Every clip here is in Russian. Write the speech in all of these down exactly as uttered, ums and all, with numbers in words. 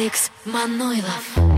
Алекс Манойлов.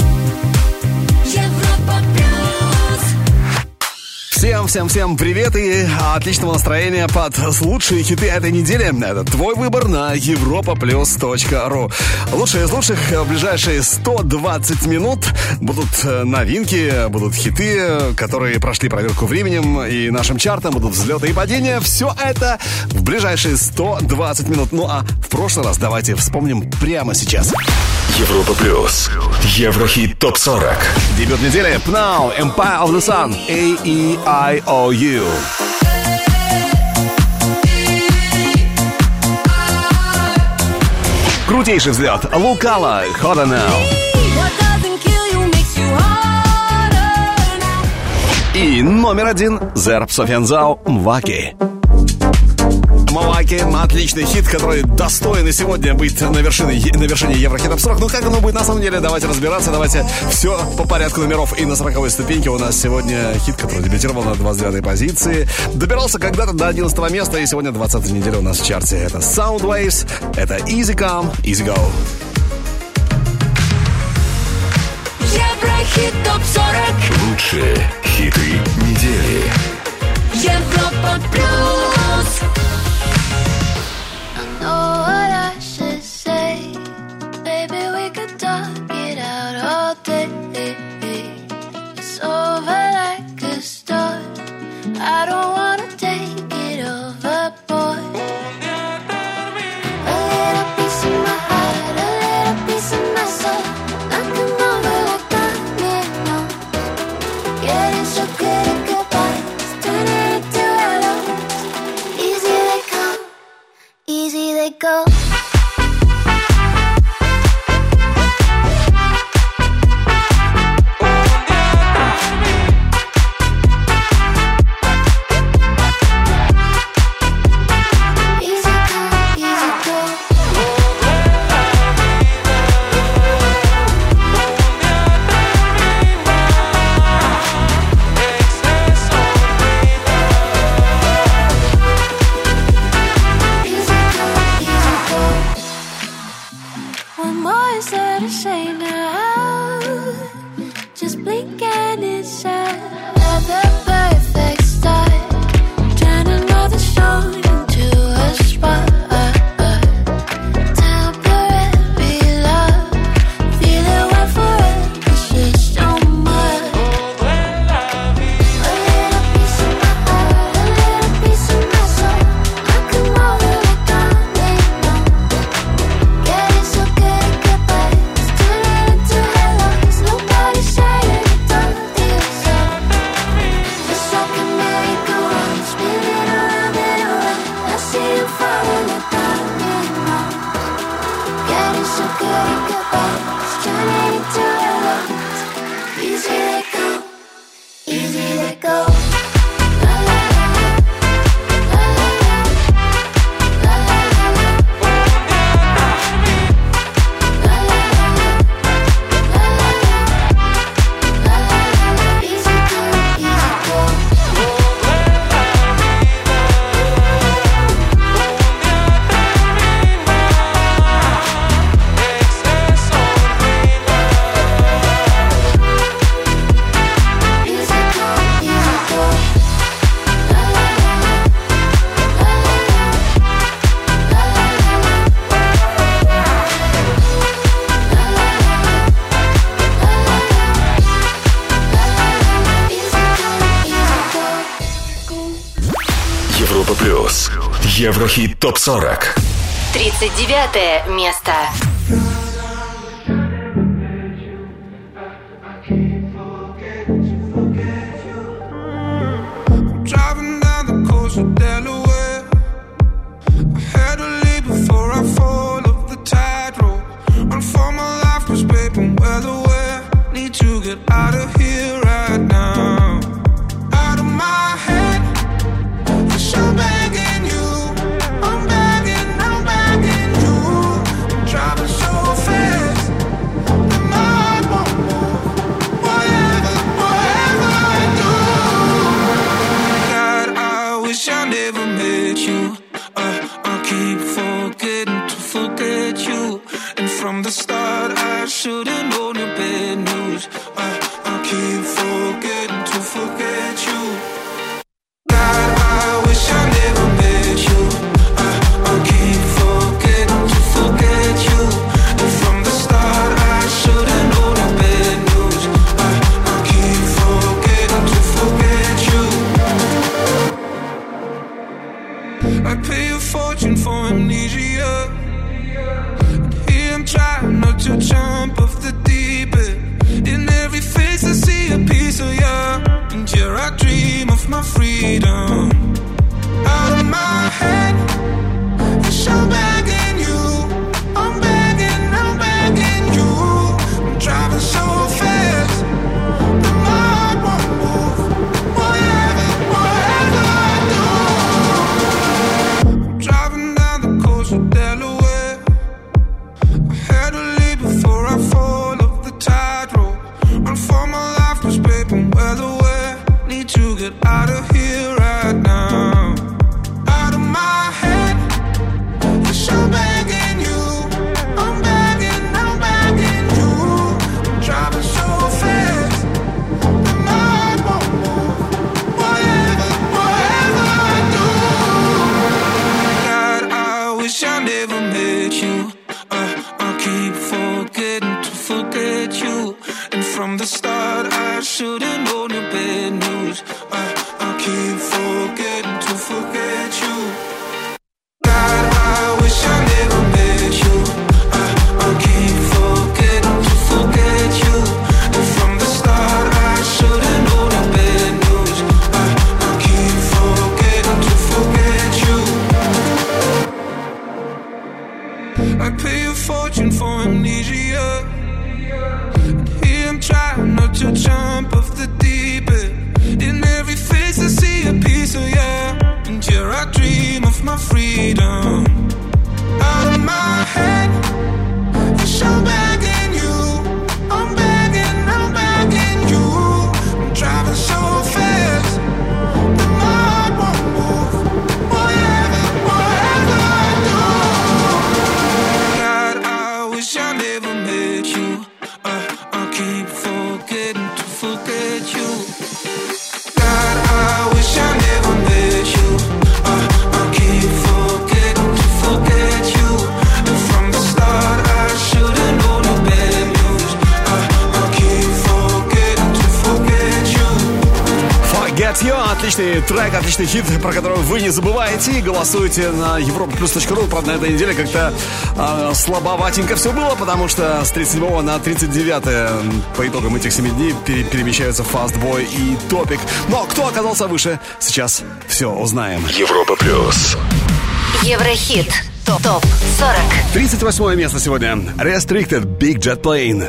Европа плюс. Всем-всем-всем привет и отличного настроения под лучшие хиты этой недели. Это твой выбор на европа плюс точка ру. Лучшие из лучших в ближайшие сто двадцать минут будут новинки, будут хиты, которые прошли проверку временем и нашим чартом, будут взлеты и падения. Все это в ближайшие сто двадцать минут. Ну а в прошлый раз давайте вспомним прямо сейчас. Европа плюс. Еврохит топ сорок. Дебют недели. пнау, Empire of the Sun. A E I O U. Крутейший взлет. Лукала. Hotter Now. И номер один. Зерб Софьянзау. Мваки. Мваки. Отличный хит, который достоин и сегодня быть на вершине, на вершине Еврохит топ сорок. Ну, как оно будет на самом деле? Давайте разбираться. Давайте все по порядку номеров. И на сороковой ступеньке у нас сегодня хит, который дебютировал на двадцать девятой позиции. Добирался когда-то до одиннадцатого места. И сегодня двадцатая неделя у нас в чарте. Это Soundwaves. Это Easy Come, Easy Go. Еврохит топ сорок. Лучшие хиты недели. Европа плюс. Know what I should say. Baby, we could talk it out all day. It's over like a start. I don't wanna take it overboard. A little piece of my heart, a little piece of my soul. Knocking over like dominoes. Getting so good at goodbyes, turning into hellos. Easy they come, easy they go. Еврохит топ сорок. тридцать девятое место. Driving down the coast of Delaware. I had to leave before I fall off the tightrope. Run for my life, 'cause babe, I'm well aware. Need to get out of here right now. Out of my head, for sure begging you. I'm begging, I'm begging you. I'm driving so fast that my heart won't move. Whatever, whatever I do. God, I wish I never met you. Uh, I keep forgetting to forget you. And from the start, I should've known your bad news. I, I keep forgetting to forget you. God, I wish I never met you. I, I keep forgetting to forget you. And from the start, I should've known your bad news. I, I keep forgetting to forget you. I pay a fortune for amnesia. I'm trying not to jump off the deep end. In every face I see a piece of you. And here I dream of my freedom. Out of my head, wish I'm begging you. I'm begging, I'm begging you. I'm driving so fast, but my heart won't move. Whatever, whatever I do. I'm driving down the coast of Delaware. Before I fall off the tightrope, run for my life, 'cause babe, I'm well aware. Need to get out of here right now. Out of my head, yes, I'm begging you. I'm begging, I'm begging you. I'm driving so fast, that my heart won't move. Whatever, whatever I do. God, I wish I never met you. Keep forgetting to forget you. And from the start, I should've known your bad news. I, I keep forgetting to forget you. God, I wish I never met you. I, I keep forgetting to forget you. And from the start, I should've known your bad news. I, I keep forgetting to forget you. I pay a fortune for amnesia. And here I'm trying not to jump off the deep end. In every face I see a piece of you. And here I dream of my freedom. Out of my head, yes, I'm begging you. I'm begging, I'm begging you. I'm driving so fast, that my heart won't move. Whatever, whatever I do. I never met you. I, I keep forgetting to forget you. God, I wish I never met you. I, I keep forgetting to forget you. And from the start, I should've known your bad news. I, I keep forgetting to forget you. Forget You. Отличный трек, отличный хит, про который вы не забываете. И голосуйте на европа плюс точка ру. Правда, на этой неделе как-то э, слабоватенько все было, потому что с тридцать седьмого на тридцать девятое по итогам этих семи дней пере- перемещаются Fastboy и Топик. Но кто оказался выше, сейчас все узнаем. Европа плюс. Еврохит. Топ сорок. тридцать восьмое место сегодня. Restricted, Big Jet Plane.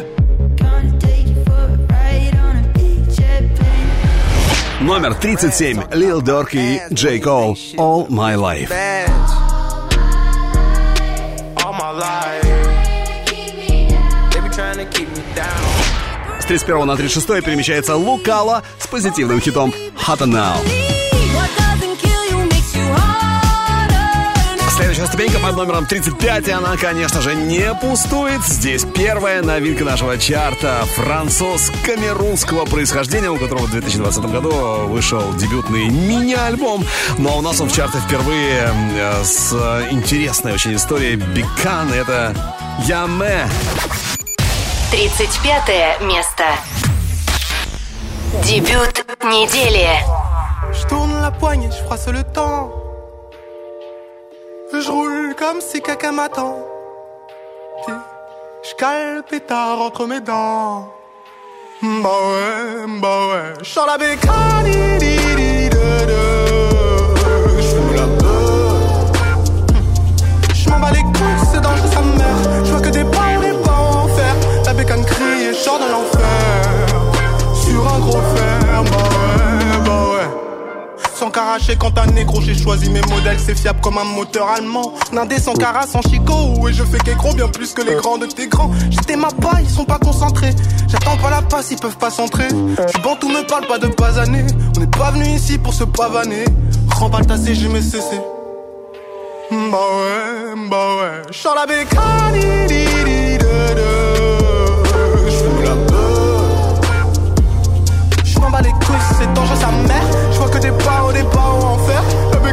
Номер тридцать семь. Lil Durk и J. Cole. All My Life. С тридцать первого на тридцать шестое перемещается Лукала с позитивным хитом Hotter Now. Следующая ступенька под номером тридцать пять, и она, конечно же, не пустует. Здесь первая новинка нашего чарта. Француз камерунского происхождения, у которого в две тысячи двадцатом году вышел дебютный мини-альбом. Но у нас он в чарте впервые с интересной очень историей. Бикан, это Яме. тридцать пятое место. Дебют недели. Je tourne la poignée, je froisse le temps. Je roule comme si quelqu'un m'attend. Je cale le pétard entre mes dents. Bah ouais, bah ouais. Je sors la bécane. Je fous la peur. Je m'en bats les couilles, c'est dangereux, ça meurt. Je vois que des balles et pas en fer. La bécane crie et je sors de l'enfer. Sur un gros fer, bah ouais, bah ouais. Sans caracher quand un négro, j'ai choisi mes modèles, c'est fiable comme un moteur allemand. Nindé sans cara, sans chicot, et je fais qu'écro bien plus que les grands de tes grands. J'étais ma paille, ils sont pas concentrés. J'attends pas la passe, ils peuvent pas centrer. Du bon tout me parle pas de basaner. On n'est pas venu ici pour se pavaner. Remballe ta C G, mais C C. Bah ouais, bah ouais. J'sors la bécane.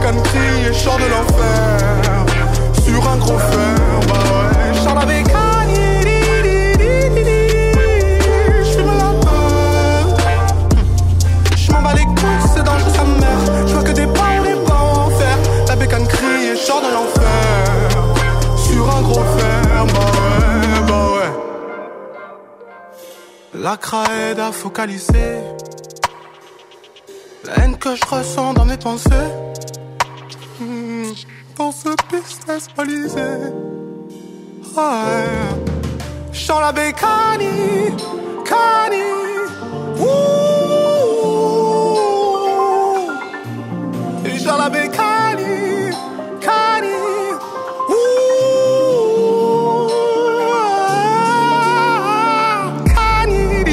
bécane crie et je sors de l'enfer. Sur un gros fer, bah ouais. Je sors la bécane. C'est dangereux sa mère. Je vois que des pas, on est pas en enfer. La bécane crie et je sors de l'enfer. Sur un gros fer, bah ouais, bah ouais. La cra aide à focaliser la haine que je ressens dans mes pensées. Mmh, dans ce business balisé. Ouais. Je sors la bécane, cani. Ouh. Dans la bécanie, cani, ouh, cani,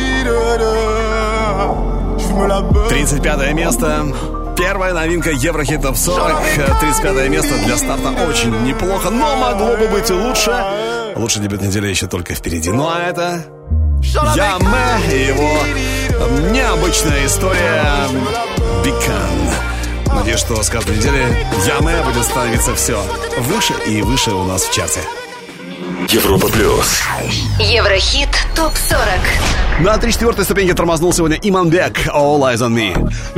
je me la beuh. тридцать пятое место. Первая новинка Еврохит Топ сорок. тридцать пятое место для старта очень неплохо, но могло бы быть и лучше. Лучший дебют недели еще только впереди. Ну а это Яме и его необычная история Бекан. Надеюсь, что с каждой недели Яме будет становиться все выше и выше у нас в чарте. Европа плюс. Еврохит Топ сорок. На три четвертой ступеньке тормознул сегодня Иманбек All Eyes on Me.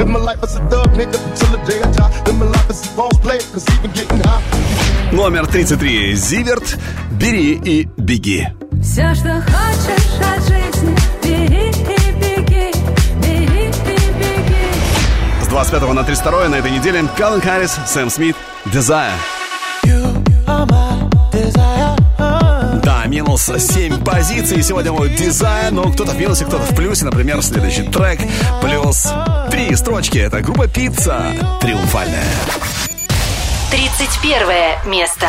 Номер тридцать три. Зиверт «Бери и беги». Все, что хочешь от жизни, бери и беги, бери и беги. С двадцать пятого на тридцать второе на этой неделе Калвин Харрис, Сэм Смит «Desire». Да, минус семь позиций. Сегодня мой Desire, но кто-то в минусе, кто-то в плюсе. Например, следующий трек плюс три строчки. Это группа Пицца «Триумфальная». тридцать первое место.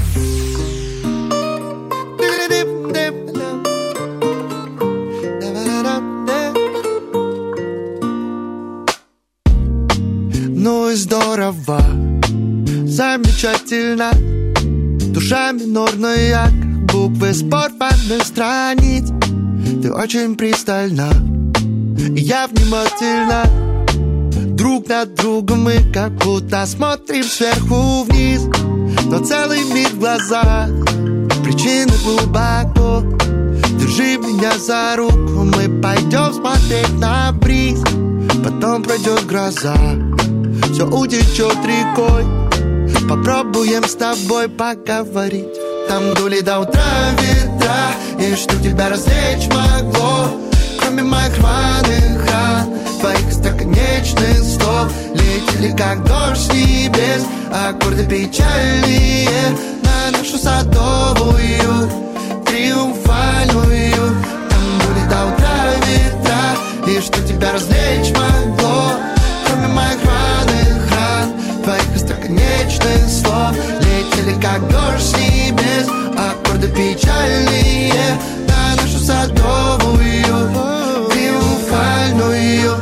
Ну и здорово, замечательно. Душа минорная, как буквы с порванных страниц. Ты очень пристально, и я внимательно. Друг на друга мы как будто смотрим сверху вниз. Но целый мир в глазах, причины глубоко. Держи меня за руку, мы пойдем смотреть на бриз. Потом пройдет гроза, все утечет рекой. Попробуем с тобой поговорить. Там дули до утра ветра, и что тебя развлечь могло, кроме моих рваных ран, твоих остроконечных слов. Летели как дождь с небес, аккорды печальные на нашу садовую, триумфальную. Там дули до утра ветра, и что тебя развлечь могло, кроме моих рваных ран, твоих остроконечных слов. Летели как дождь с небес, аккорды печальные на нашу садовую, триумфальную.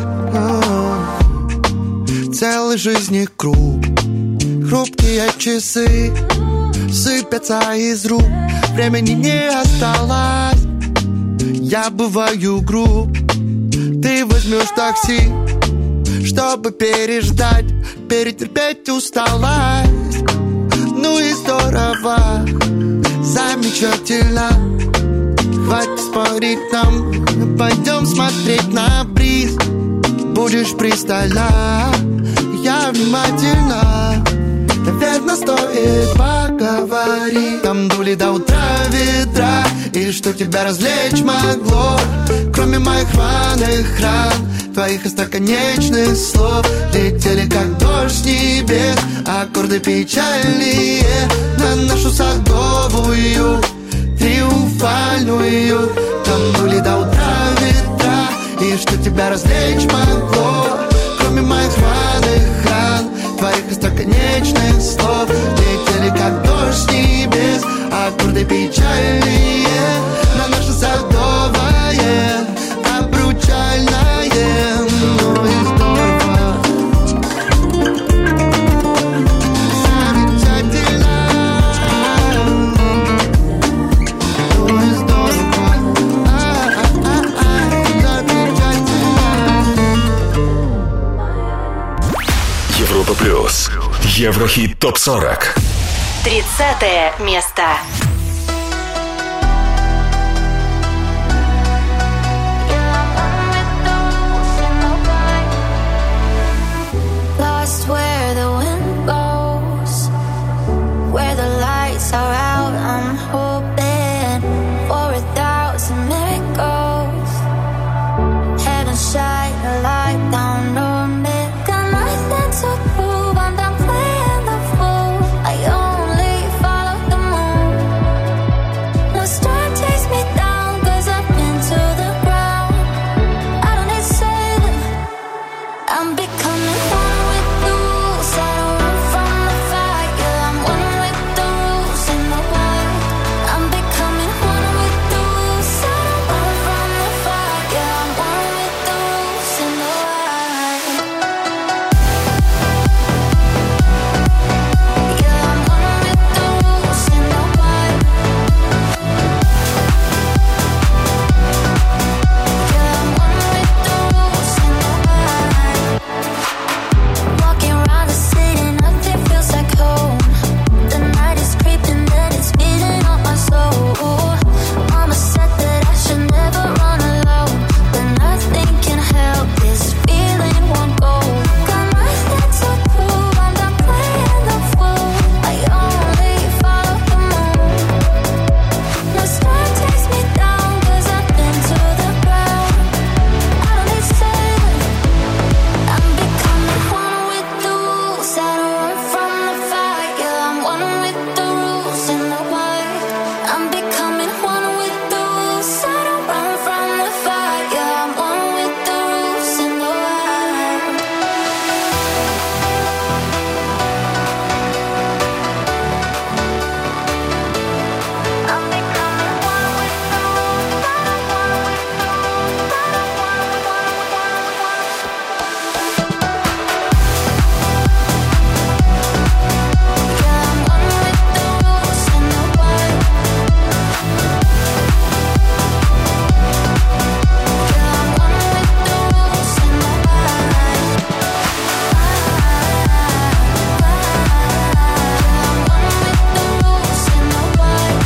Целый жизни круг, хрупкие часы сыпятся из рук, времени не осталось. Я бываю груб, ты возьмешь такси, чтобы переждать, перетерпеть усталость. Ну и здорово, замечательно. Хватит спорить нам, пойдем смотреть на бриз. Будешь пристально, я внимательно. Наверное, стоит поговорить. Там дули до утра ветра, и что тебя развлечь могло, кроме моих рваных ран, твоих остроконечных слов. Летели как дождь с небес, аккорды печальные на нашу садовую, триумфальную. Там дули до утра ветра, и что тебя развлечь могло, кроме моих рваных ран, твоих остроконечных слов. Летели как дождь с небес, аккорды печальные на наше садовое, обручальное. Ну и здорово, замечательно. Ну и здорово, а-а-а-а, замечательно. Европа плюс. Еврохит топ сорок. тридцатое место. Lost where the wind goes, where the lights are out. I'm hoping for a thousand miracles. Heaven shine a light down on me. Got nothing to prove, I'm done playing the fool. I only follow the moon. No star takes me down, 'cause I've been to the ground. I don't need saving, I'm becoming one with the rules. I don't run from the fire, I'm one with the rules and the wild. I'm becoming one with the rules. I don't run from the fire, I'm one with the rules and the wild. Yeah, I'm one with the rules and the wild. Yeah, I'm one with the rules and the wild. Walking around the city, nothing feels like home. The night is creeping and it's eating up my soul. Mama said that I should never run alone, but nothing can help this feeling won't go. Got nothing to prove, I'm done playing the fool. I only follow the moon. No star takes me down, 'cause I've been to the ground. I don't need saving, I'm becoming one with the rules. I don't run from the fire, I'm one with the rules and the wild. I'm becoming one with the rules. I don't run from the fire, I'm one with the rules and the wild. I'm becoming one with the rules. I don't wanna with the rules. I don't wanna, wanna, wanna, wanna. Yeah, I'm one with the rules and the wild. Yeah, I'm one with the rules and the wild. I'm one with the rules and the wild.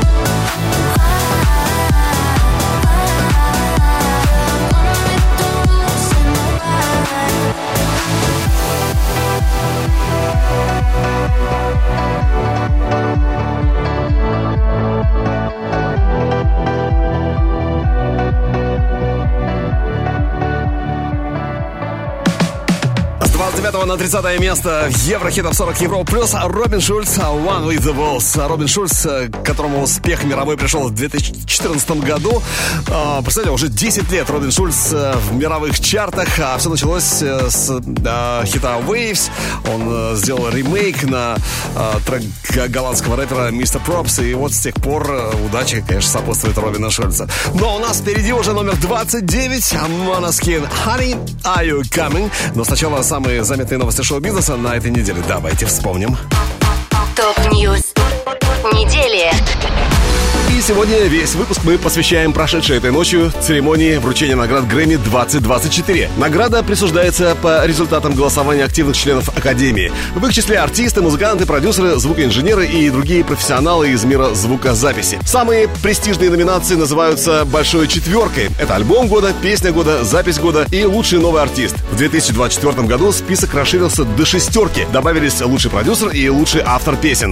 С двадцать девятого на тридцатое место в Еврохит топ сорок Европа плюс Робин Шульц One with the Walls. Робин Шульц, которому успех мировой пришел в две тысячи четырнадцатом году. А, Представляете, уже десять лет Робин Шульц в мировых чартах. А все началось с а, хита Waves. Он а, сделал ремейк на а, трек голландского рэпера мистер Пропс. И вот с тех пор а, удача, конечно, сопутствует Робина Шульца. Но у нас впереди уже номер двадцать девять. Måneskin Honey, Are You Coming? Но сначала самые заметные новости шоу-бизнеса на этой неделе. Давайте вспомним. Топ-ньюс недели. И сегодня весь выпуск мы посвящаем прошедшей этой ночью церемонии вручения наград Грэмми двадцать двадцать четыре. Награда присуждается по результатам голосования активных членов Академии. В их числе артисты, музыканты, продюсеры, звукоинженеры и другие профессионалы из мира звукозаписи. Самые престижные номинации называются «Большой четверкой». Это альбом года, песня года, запись года и лучший новый артист. В две тысячи двадцать четвёртом году список расширился до шестерки. Добавились лучший продюсер и лучший автор песен.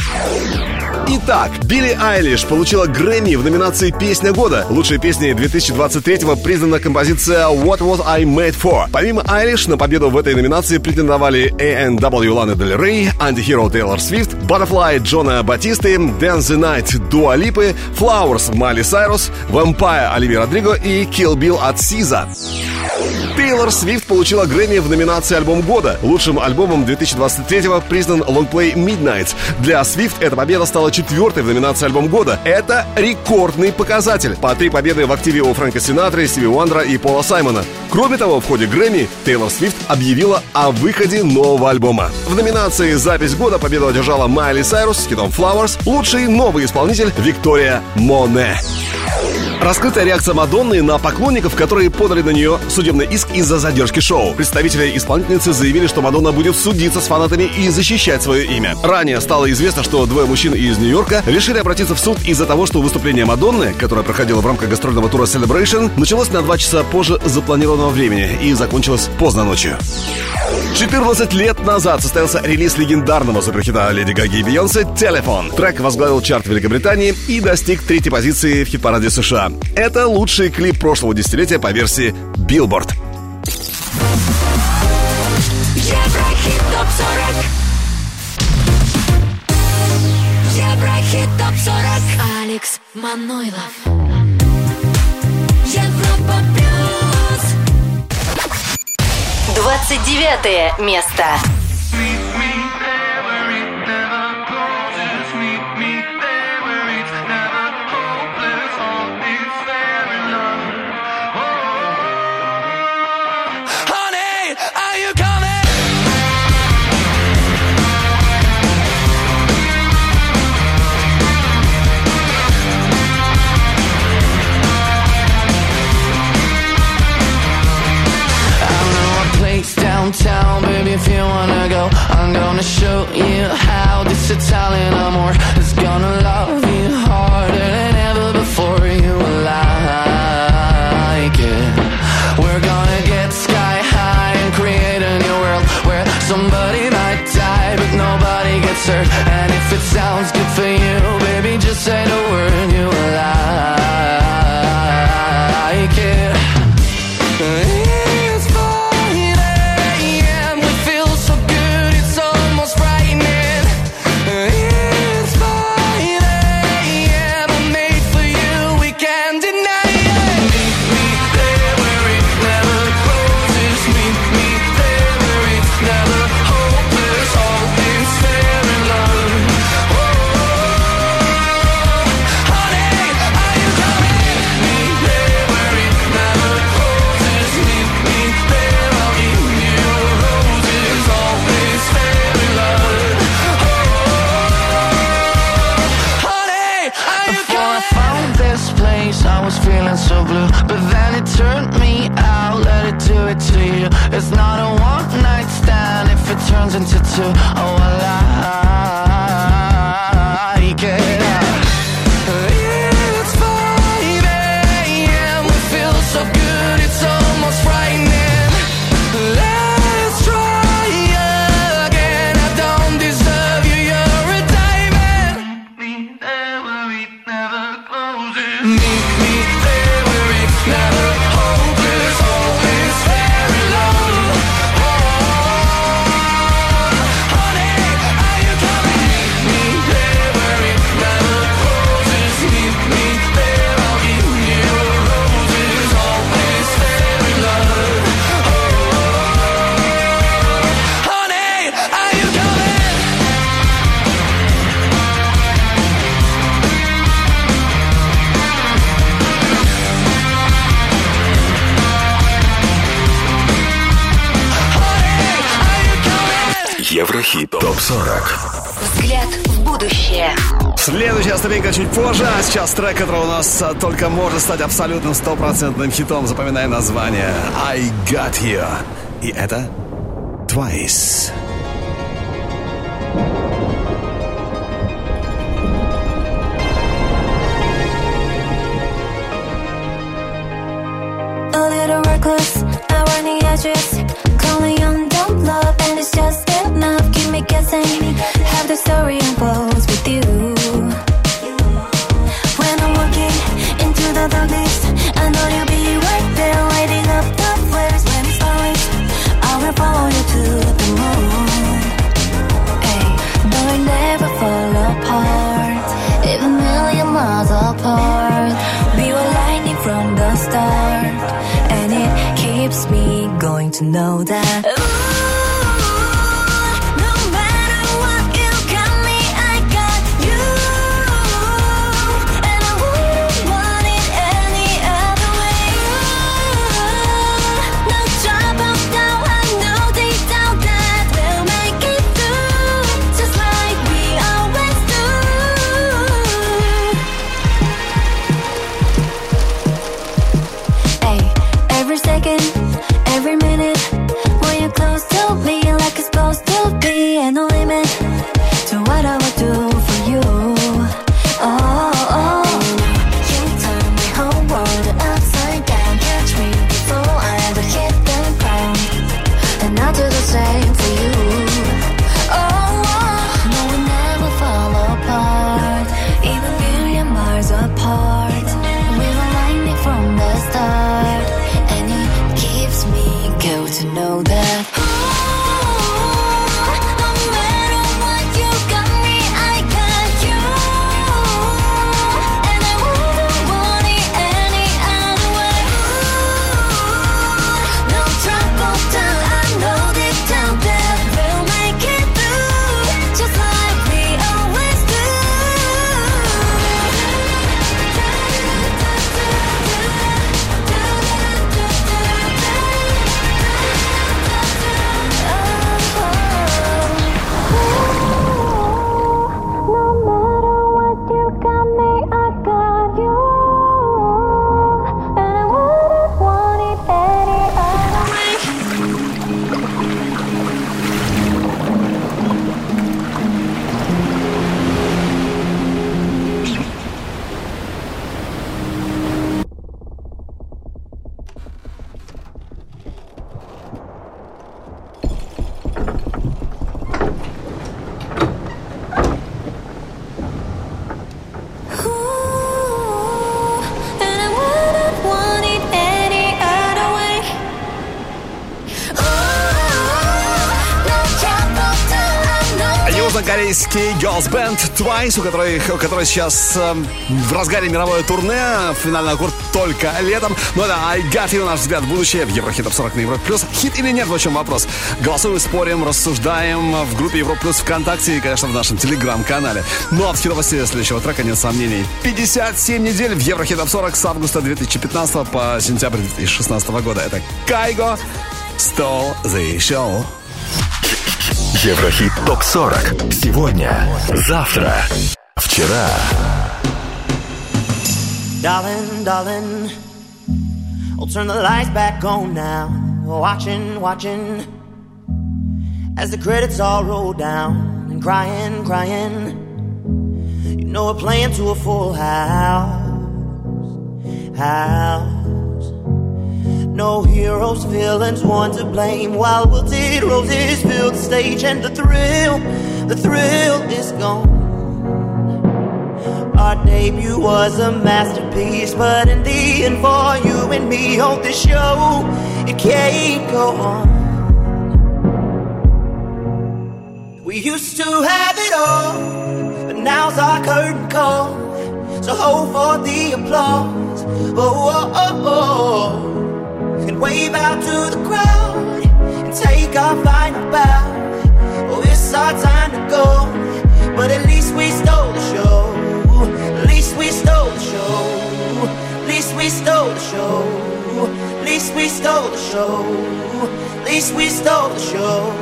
Итак, Билли Айлиш получила Грэмми в номинации «Песня года». Лучшей песней две тысячи двадцать третьего признана композиция «What Was I Made For». Помимо Айлиш, на победу в этой номинации претендовали эй энд дабл ю Лана Дель Рей, Антихиро Тейлор Свифт, Butterfly Джона Батисты, Dance the Night Дуа Липы, Flowers Майли Сайрус, Vampire Оливия Родриго и Kill Bill от Сиза. Тейлор Свифт получила Грэмми в номинации «Альбом года». Лучшим альбомом две тысячи двадцать третьего признан лонгплей Midnight. Для Свифт эта победа стала четвертой в номинации «Альбом года». Это рекордный показатель. По три победы в активе у Фрэнка Синатры, Стиви Уандера и Пола Саймона. Кроме того, в ходе Грэмми Тейлор Свифт объявила о выходе нового альбома. В номинации «Запись года» победу одержала Майли Сайрус с хитом «Flowers», лучший новый исполнитель Виктория Моне. Раскрытая реакция Мадонны на поклонников, которые подали на нее судебный иск из-за задержки шоу. Представители исполнительницы заявили, что Мадонна будет судиться с фанатами и защищать свое имя. Ранее стало известно, что двое мужчин из Нью-Йорка решили обратиться в суд из-за того, что выступление Мадонны, которое проходило в рамках гастрольного тура Celebration, началось на два часа позже запланированного времени и закончилось поздно ночью. четырнадцать лет назад состоялся релиз легендарного суперхита Леди Гаги и Бейонсе «Телефон». Трек возглавил чарт Великобритании и достиг третьей позиции в хит-параде США. Это лучший клип прошлого десятилетия по версии Billboard. Еврохит топ сорок. Еврохит топ сорок. Алекс Манойлов. Европа плюс. двадцать девятое место. Downtown, baby, if you wanna go, I'm gonna show you how this Italian amor is gonna love you harder than ever before. You will like it. We're gonna get sky high and create a new world where somebody might die but nobody gets hurt. And if it sounds good for you, baby, just say the word. You will like it. So blue, but then it turned me out. Let it do it to you. It's not a one night stand if it turns into two. Oh, I like it. It's five a.m. We feel so good, it's almost frightening. Let's try again. I don't deserve you, you're a diamond. Meet me there where it never closes. Meet me there where it's never hopeless, always fair in love. Oh, honey, are you coming? Meet me there where it never closes. Meet me there, I'll give you roses, always fair in love. Oh, honey, are you coming? Еврохит топ сорок. Взгляд в будущее. Следующая ступенька чуть позже, а сейчас трек, который у нас а, только может стать абсолютным стопроцентным хитом. Запоминай название I Got You. И это Twice. A little reckless, I run the edges. Calling on dumb love, and it's just enough. Keep me guessing, have the story unfolds with you. When I'm walking into the darkness, I know you'll be right there, lighting up the flares. When it's orange, I will follow you to the moon. Hey, though I never fall apart, even a million miles apart. We were lightning from the start, and it keeps me going to know that. Ooh, no matter what, you got me, I got you, and I wouldn't want it any other way. No troubles now, I know deep down that we'll make it through, just like we always do. южнокорейский girls band Twice, у которой, у которой сейчас э, в разгаре мировое турне. Финальный аккорд только летом. Ну да, I Got You, наш взгляд в будущее. В Еврохит Топ сорок на Европе Плюс. Хит или нет, в чем вопрос? Голосуем, спорим, рассуждаем в группе Европа Плюс ВКонтакте и, конечно, в нашем телеграм-канале. Ну а в хитовости следующего трека нет сомнений. пятьдесят семь недель в Еврохит Топ сорок с августа две тысячи пятнадцатого по сентябрь две тысячи шестнадцатого года. Это Кайго, Stole the Show. Еврохит Топ сорок. Сегодня, завтра, вчера. Darling, darling, I'll turn the lights back on now. Watching, watching, as the credits all roll down. And crying, crying, you know we're playing to a full house. House. No heroes, villains, one to blame. While wilted roses fill the stage, and the thrill, the thrill is gone. Our debut was a masterpiece, but in the end, for you and me on this show, it can't go on. We used to have it all, but now's our curtain call. So hold for the applause. Oh, oh, oh, oh. And wave out to the crowd and take our final bow. Oh, it's our time to go, but at least we stole the show. At least we stole the show. At least we stole the show. At least we stole the show. At least we stole the show.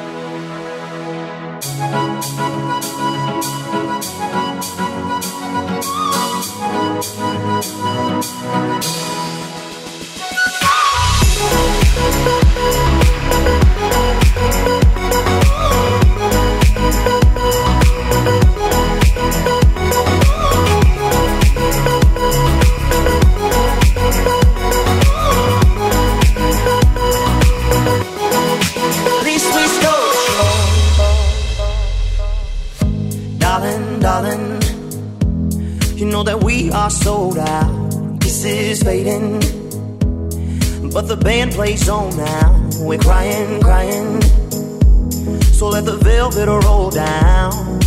Darling, you know that we are sold out. This is fading, but the band plays on now. We're crying, crying, so let the velvet roll down,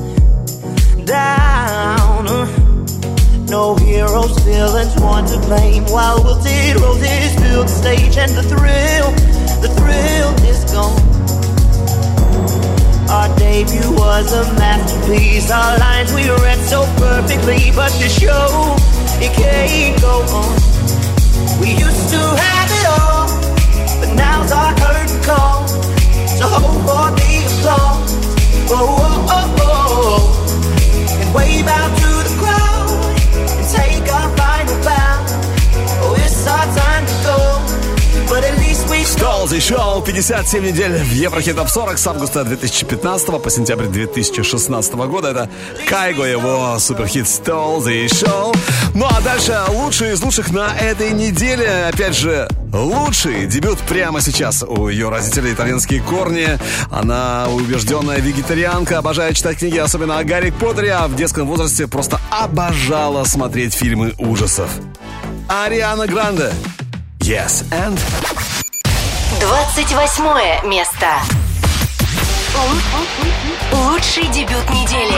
down. No heroes, villains, one to blame. While wilted roses fill the stage, and the thrill, the thrill is gone. Our debut was a masterpiece. Our lines we read so perfectly, but the show, it can't go on. We used to have it all, but now's our curtain call. So hold for the applause. Oh, oh, oh, oh. And wave out to the crowd and take our final bow. Oh, it's our time to go, but at least we Stole the Show. пятьдесят семь недель в Еврохит Топ сорок с августа две тысячи пятнадцатого по сентябрь две тысячи шестнадцатого года. Это Кайго, его суперхит Stole the Show. Ну а дальше лучшие из лучших на этой неделе. Опять же, лучший дебют прямо сейчас. У ее родителей итальянские корни. Она убежденная вегетарианка, обожает читать книги, особенно о Гарри Поттере, а в детском возрасте просто обожала смотреть фильмы ужасов. Ариана Гранде. Yes, and... двадцать восьмое место. Лучший дебют недели.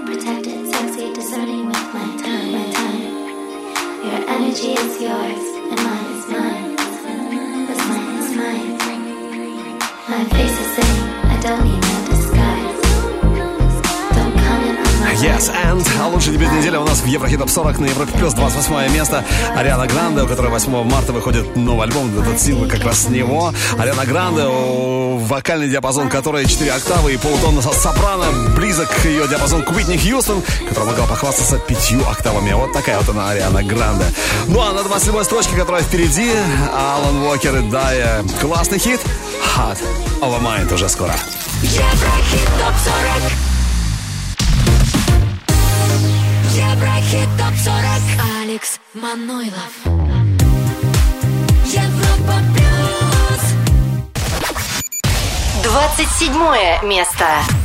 protected, sexy, discerning with my time, my time. Your energy is yours, and mine is mine. What's mine is mine. My face is saying, I don't need no disguise. Don't comment on my Yes, and лучший дебют недели у нас в Еврохит Топ сорок на Европе Плюс, двадцать восьмое место. Ариана Гранде, у которой восьмого марта выходит новый альбом, этот сингл как раз с него. Ариана Гранде, вокальный диапазон которой четыре октавы и полутона со сопрано, близок ее диапазон к Уитни Хьюстон, которая могла похвастаться пятью октавами. Вот такая вот она, Ариана Гранде. Ну а на двадцать седьмой строчке, которая впереди, Алан Уокер и Дайя. Классный хит Hot Over Mind уже скоро. Еврохит Топ сорок. Еврохит Топ сорок. Алекс Манойлов. Европа Плюс. двадцать седьмое место.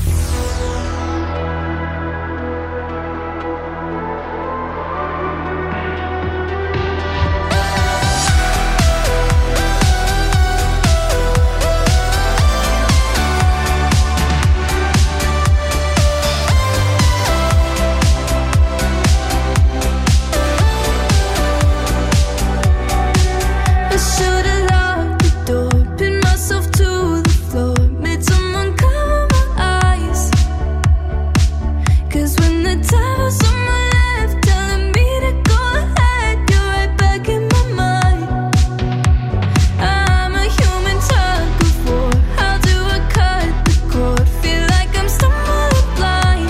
I should've locked the door, pinned myself to the floor, made someone cover my eyes. 'Cause when the devil's on my left, telling me to go ahead, you're right back in my mind. I'm a human tug of war. How do I cut the cord? Feel like I'm stumbling blind.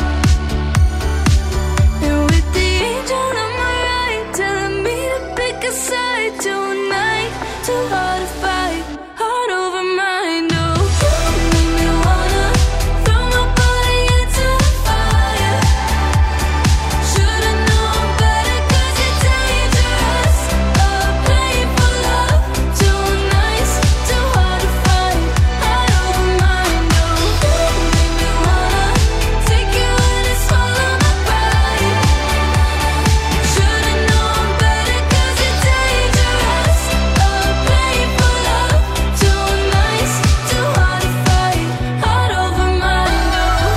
And with the angel on my right, telling me to pick a side tonight. Too hard to fight, heart over mind. Oh, you make me wanna throw my body into the fire. Should've known better 'cause you're dangerous. Oh, playing for love, too nice, too hard to fight, heart over mind. Oh, you make me wanna take you in and swallow my pride. Should've known better 'cause you're dangerous. Oh, playing for love, too nice, too hard to fight, heart over mind.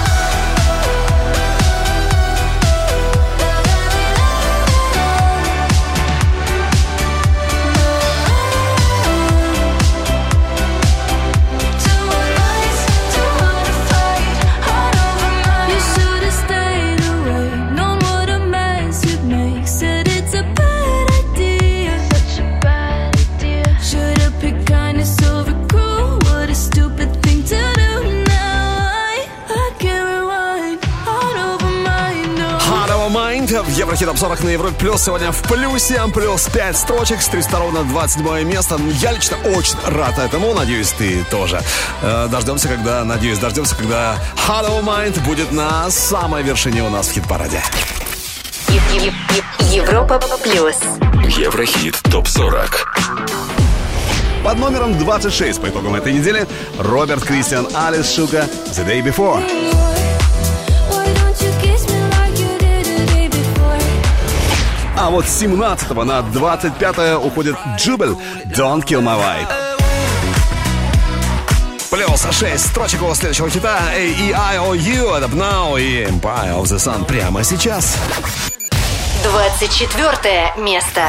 Too nice, too hard to fight, heart over mind. You should've stayed away, known what a mess you'd make. Said it's a bad idea, such a bad idea. Should've picked kindness over cruel. What a stupid thing to do. Now I, I can't rewind, heart over mind. No. Hot Over Mind в Еврохит Топ сорок на Европе Плюс. Сегодня в плюсе, плюс пять строчек, с триста ровно двадцать седьмое место. Я лично очень рад этому, надеюсь, ты тоже. Э, Дождемся, когда, надеюсь, дождемся, когда Hot Over Mind будет на самой вершине у нас в хит-параде. Е- е- е- Европа Плюс. Еврохит Топ сорок. Под номером двадцать шесть по итогам этой недели Роберт Кристиан, Алис Шука, The Day Before. Why don't you kiss me like you did the day before? А вот с семнадцатого на двадцать пятое уходит Джубель, Don't Kill My Vibe. Плюс шесть строчек у следующего хита A E I O U, это Now и Empire of the Sun прямо сейчас. двадцать четвертое место.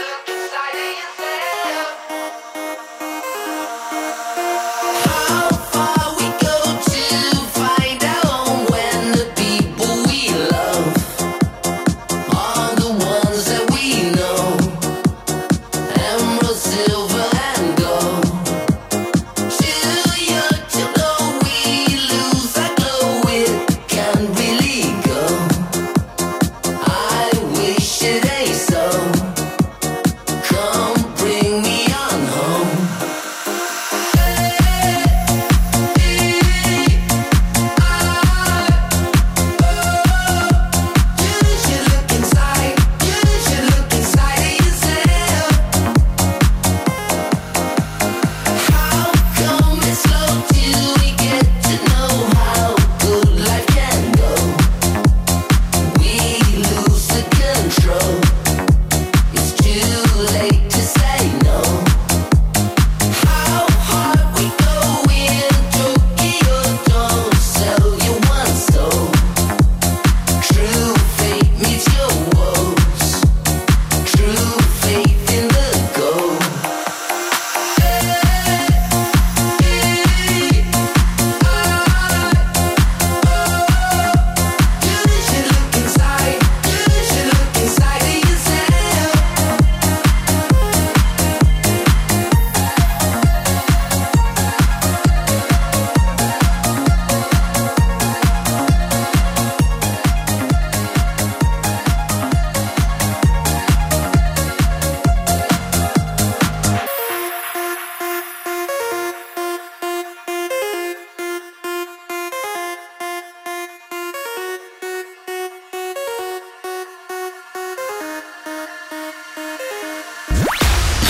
Oh,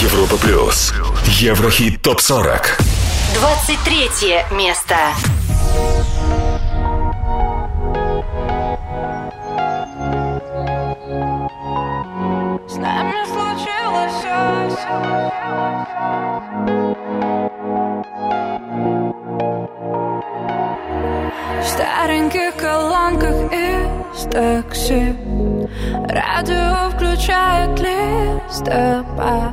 Европа плюс. Еврохит топ сорок. двадцать третье место. С нами случилось в стареньких колонках из такси. Радио включает листопад.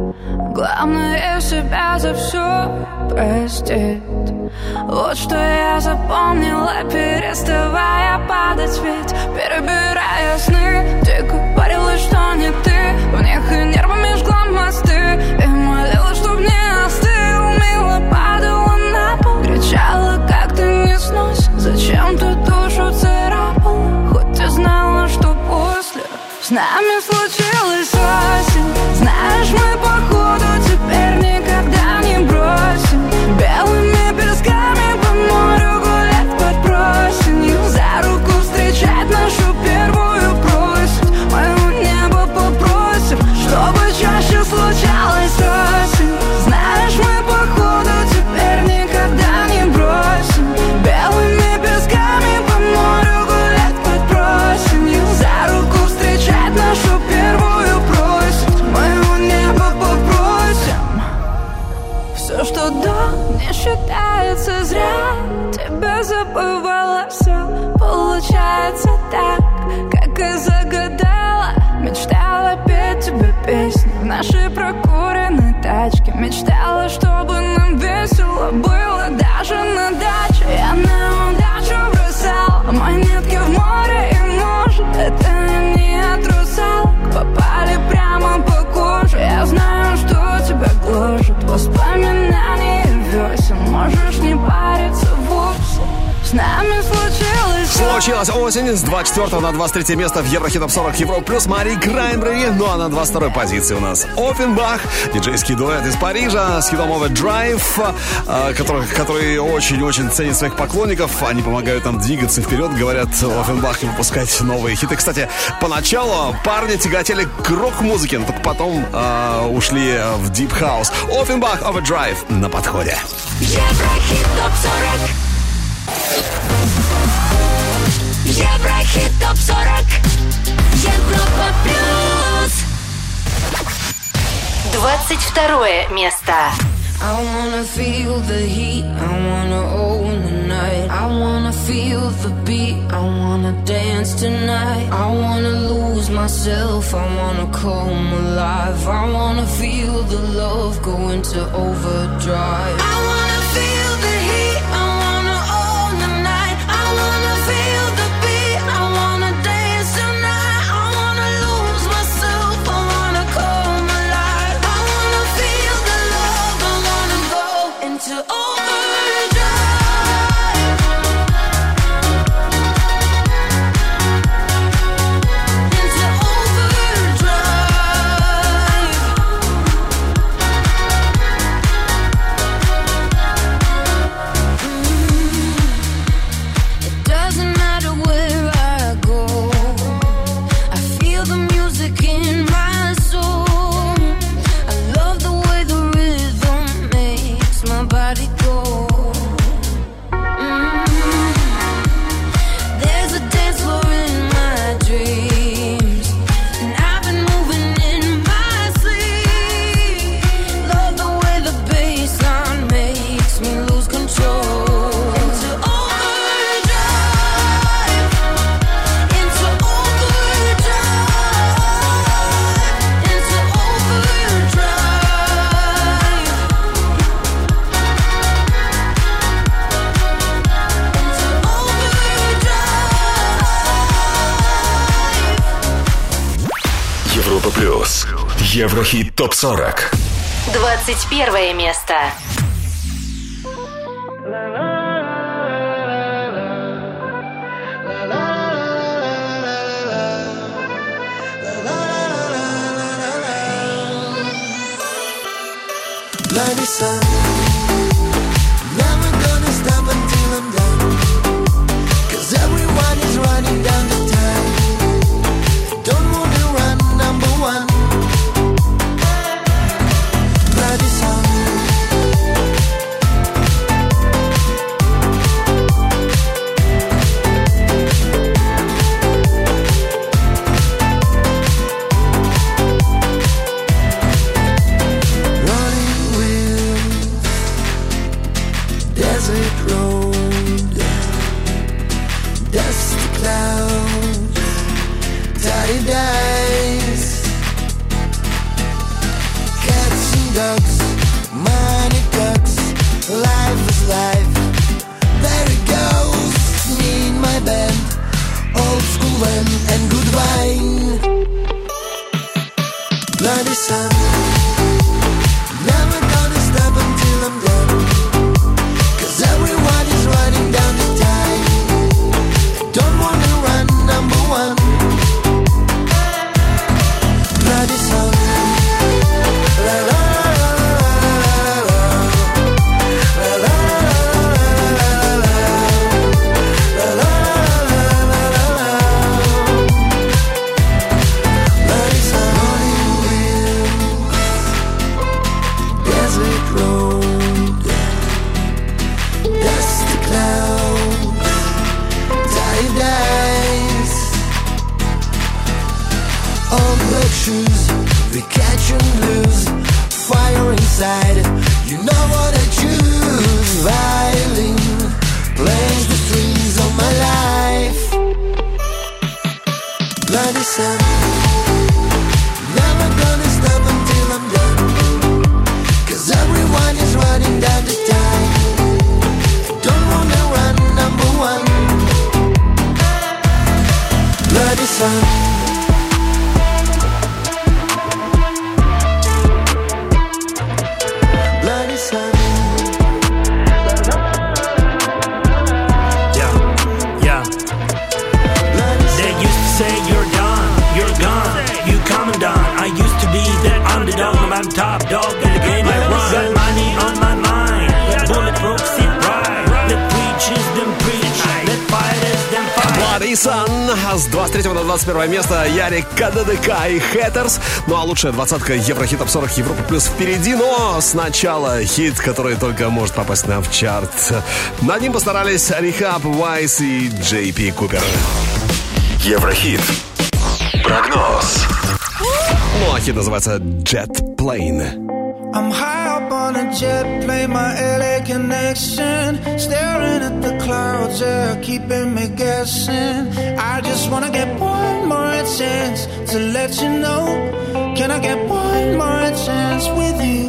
Главное себя за все простить. Вот что я запомнила, переставая падать. Ведь перебирая сны, ты говорила, что не ты. В них и нервами жгла мосты. И молила, чтоб не остыл. Мило падала на пол. Кричала, как ты не снось. Зачем ты душу царапала? Хоть и знала, что после с нами случилась осень. Знаешь, мы походу теперь никогда не бросим. Белыми песками по морю гулять под просенью. За руку встречать нашу первую просить. Моего неба попросим, чтобы чаще случалась осень. Знаешь, мы походу теперь никогда не бросим. Белыми песками по морю гулять под просенью. За руку встречать нашу первую просить. Моего неба попросим. Все, что до, не считается зря. Тебя забывала, все получается так, как и загадала. Мечтала петь тебе песни в нашей прокуренной тачке. Мечтала, чтобы нам весело было даже на даче. Я на удачу бросала монетки в море. И может, это не от русалок попали прямо по коже. Я знаю, что тебя гложет воспоминания весен. Можешь не париться вовсе. С нами случилось Случилась осень с двадцать четвёртого на двадцать третье место в Еврохит топ сорок Европа плюс Мари Краймбрери. Ну а на двадцать второй позиции у нас Оффенбах, диджейский дуэт из Парижа с хитом Overdrive, который, который очень-очень ценит своих поклонников. Они помогают нам двигаться вперед, говорят Оффенбах, и выпускать новые хиты. Кстати, поначалу парни тяготели к рок-музыке, но только потом э, ушли в Deep House. Оффенбах, Overdrive на подходе. Еврохит топ сорок. Еврохит топ сорок. Европа плюс. двадцать второе место. I wanna feel the heat, I wanna own the night. I wanna feel the beat, I wanna dance tonight. I wanna lose myself, I wanna come alive. I wanna feel the love go into overdrive. I wanna feel the heat, I wanna own the night. I wanna feel the beat, I wanna dance tonight. I wanna lose myself, I wanna come alive. I wanna feel the love, I wanna go into overdrive. Into overdrive. Mm. It doesn't matter where I go, I feel the music in my soul. I love the way the rhythm makes my body go. Mm. There's a dance floor in my dreams, and I've been moving in my sleep. Love the way the bassline makes me lose control. Into overdrive. Into overdrive. Into overdrive. Into overdrive. Европа плюс. Еврохит топ сорок. двадцать первое место. Bloody sun, never gonna stop until I'm done. 'Cause everyone is running down the time. Don't wanna run, number one. ducks, money ducks, life is life. There it goes, me and my band, old school wine and good wine. Bloody sun, never gonna stop until I'm done. Cause everyone is running down the time. Don't wanna run number one. Bloody sun, la la la la la la la la la la la la. Bloody sun, desert road, dusty clouds, tired eyes, old black shoes, we catch and lose, fire inside, you know what I choose. Violin plays the strings of my life. Bloody sun, never gonna stop until I'm done. Cause everyone is running down the time. Don't wanna run number one. Bloody sun. Bloody sun. Yeah, yeah. They used to say you're done, you're gone, you come and done. I used to be that underdog, now I'm top dog in the game I run. Got money on my mind, bulletproof sit right. Let preachers them preach, let fighters them fight. Bloody Sun с двадцать третьего на двадцать первое место Ярик КДДК и Haters. Ну а лучшая двадцатка Еврохит Топ сорок Европа Плюс впереди. Но сначала хит, который только может попасть нам в чарт. Над ним постарались Rehab, Wise и джей пи Купер. Еврохит. Прогноз. Ну а хит называется Jet Plane. I'm high up on a jet plane, my L A connection. Staring at the clouds, yeah, keeping me guessing. I just wanna get one more chance to let you know. Can I get one more chance with you?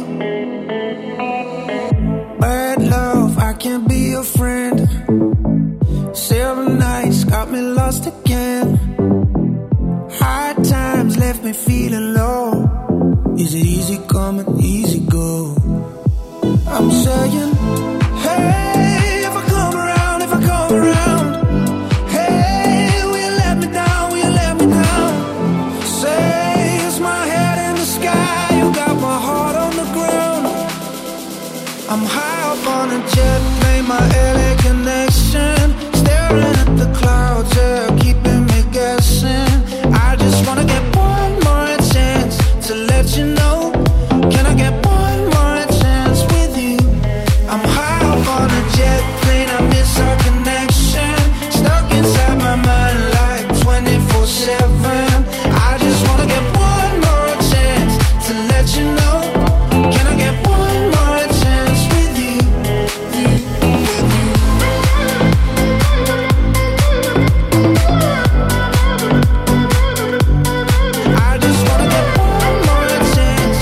Bad love, I can't be your friend. Seven nights got me lost again. Hard times left me feeling low. Is it easy coming, easy go? I'm saying, hey, if I come around, if I come around, hey, will you let me down, will you let me down? Say, is my head in the sky, you got my heart on the ground. I'm high up on a jet plane, my L A connection. Staring at the clouds, yeah, keeping me guessing. I just wanna get one more chance to let you know. Can I get one more chance with you? I'm high up on a jet plane, I miss our connection. Stuck inside my mind like twenty-four seven. I just wanna get one more chance to let you know. Can I get one more chance with you? I just wanna get one more chance.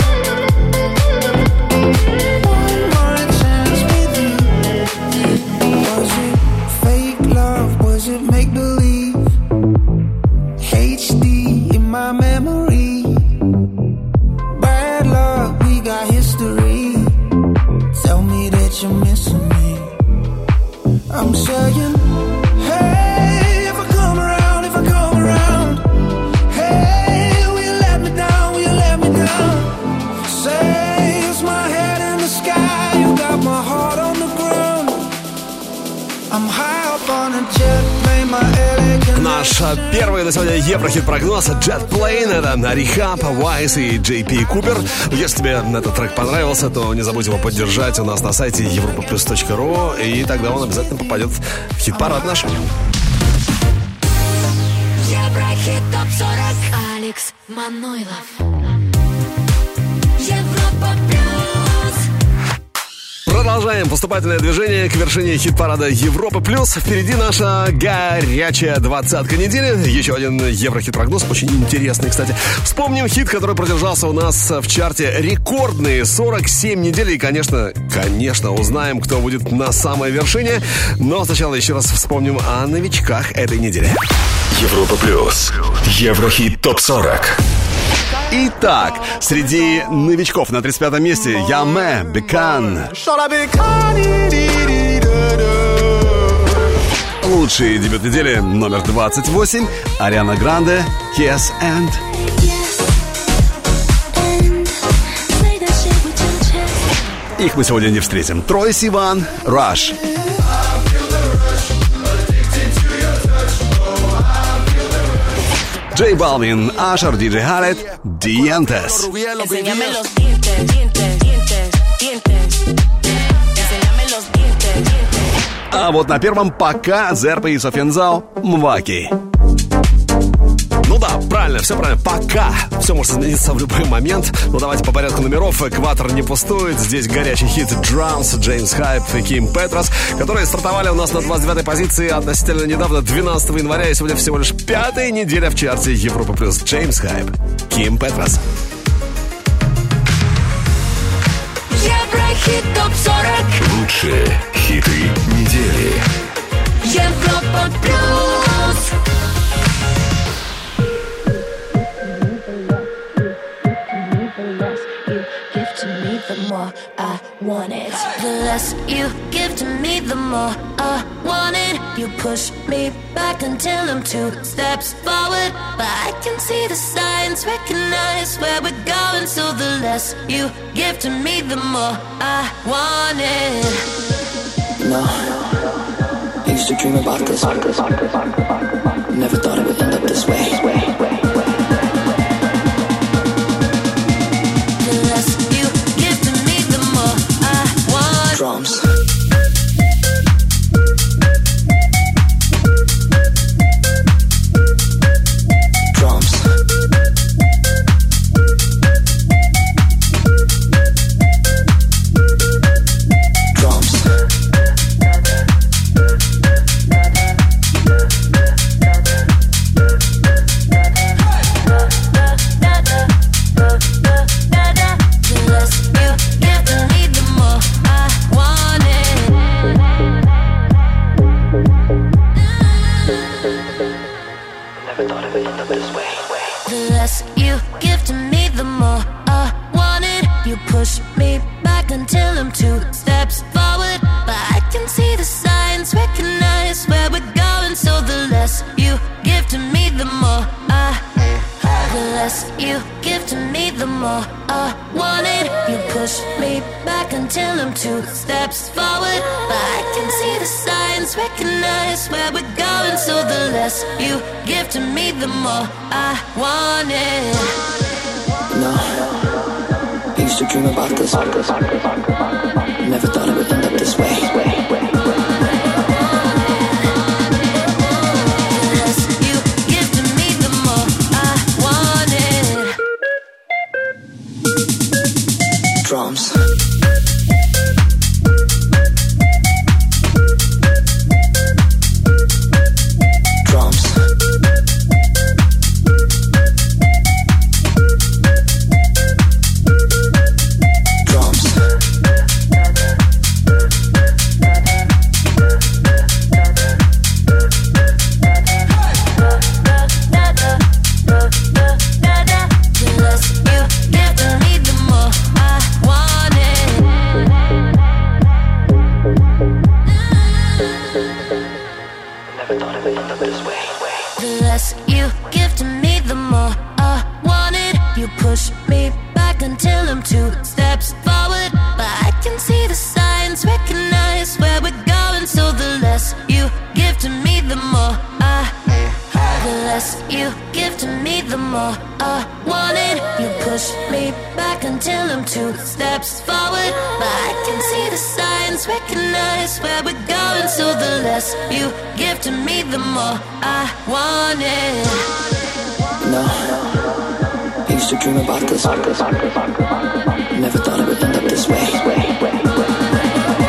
One more chance with you. Was it fake love? Was it make believe? H D in my memory. Bad luck, we got history. Tell me that you're missing me. I'm saying, hey, if I come around, if I come around, hey, will you let me down, will you let me down? Say, is my head in the sky, you got my heart on the ground. I'm high up on a jet plane, my L A connection. Наш первый на сегодня Еврохит-прогноз Jet Plane. Это Rehab, Wise и джей пи Купер. Если тебе этот трек понравился, то не забудь его поддержать у нас на сайте европа плюс точка ру. И тогда он обязательно попадет в хит-парад наш. Еврохит Топ сорок. Алекс Манойлов. Европа Плюс. продолжаем поступательное движение к вершине хит-парада Европы+. Плюс. Впереди наша горячая двадцатка недели. Еще один Еврохит-прогноз, очень интересный, кстати. Вспомним хит, который продержался у нас в чарте рекордные сорок семь недель. И, конечно, конечно, узнаем, кто будет на самой вершине. Но сначала еще раз вспомним о новичках этой недели. Европа+. плюс. Еврохит топ сорок. Итак, среди новичков на тридцать пятом месте Яме, Бекан. Лучший дебют недели номер двадцать восемь. Ариана Гранде, Yes and. Их мы сегодня не встретим. Трой Сиван, Rush. Джей Балвин, Ашер, Диджей Халед, Диентес. А вот на первом пока Зерпа и Софензау, Мваки. Ну да, правильно, все правильно, пока. Все может измениться в любой момент. Но давайте по порядку номеров. Экватор не пустует. Здесь горячий хит Drums, Джеймс Хайп и Ким Петрос, которые стартовали у нас на двадцать девятой позиции относительно недавно, двенадцатого января. И сегодня всего лишь пятая неделя в чарте Европа+. Плюс. Джеймс Хайп, Ким Петрос. Еврохит топ сорок. Лучшие хиты недели. Европа плюс. I want it. The less you give to me, the more I want it. You push me back until I'm two steps forward, but I can see the signs, recognize where we're going. So the less you give to me, the more I want it. No, I used to dream about this. Never thought it would end up this way. Drums. Drums. Drums. The less you give to me, the more I want it. You push me back until I'm two steps forward, but I can see the signs, recognize where we're going. So the less you give to me, the more I. The less you give to me, the more I want it. You push me back until I'm two steps forward, but I can see the signs, recognize where we're going. So the less you give to me, the more I want it. No, I used to dream about this. Never thought it would end up this way. Drums. Drums. Drums. The less you give to me, the more I want it. You push me back until I'm two steps forward, but I can see the signs, recognize where we're going. So the less you give to me, the more I. The less you give to me, the more I want it. You push me back until I'm two steps forward, but I can see the signs, recognize where we're going. So the less you give to me, the more I want it. No, I used to dream about this. Never thought it would end up this way.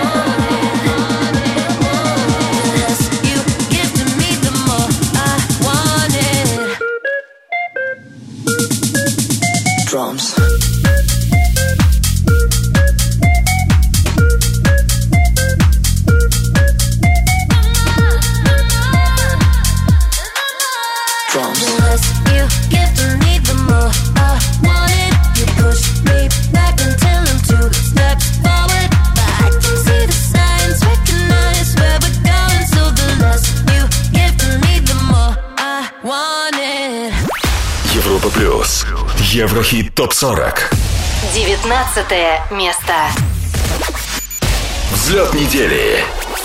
Еврохит топ сорок. девятнадцатое место. Взлет недели.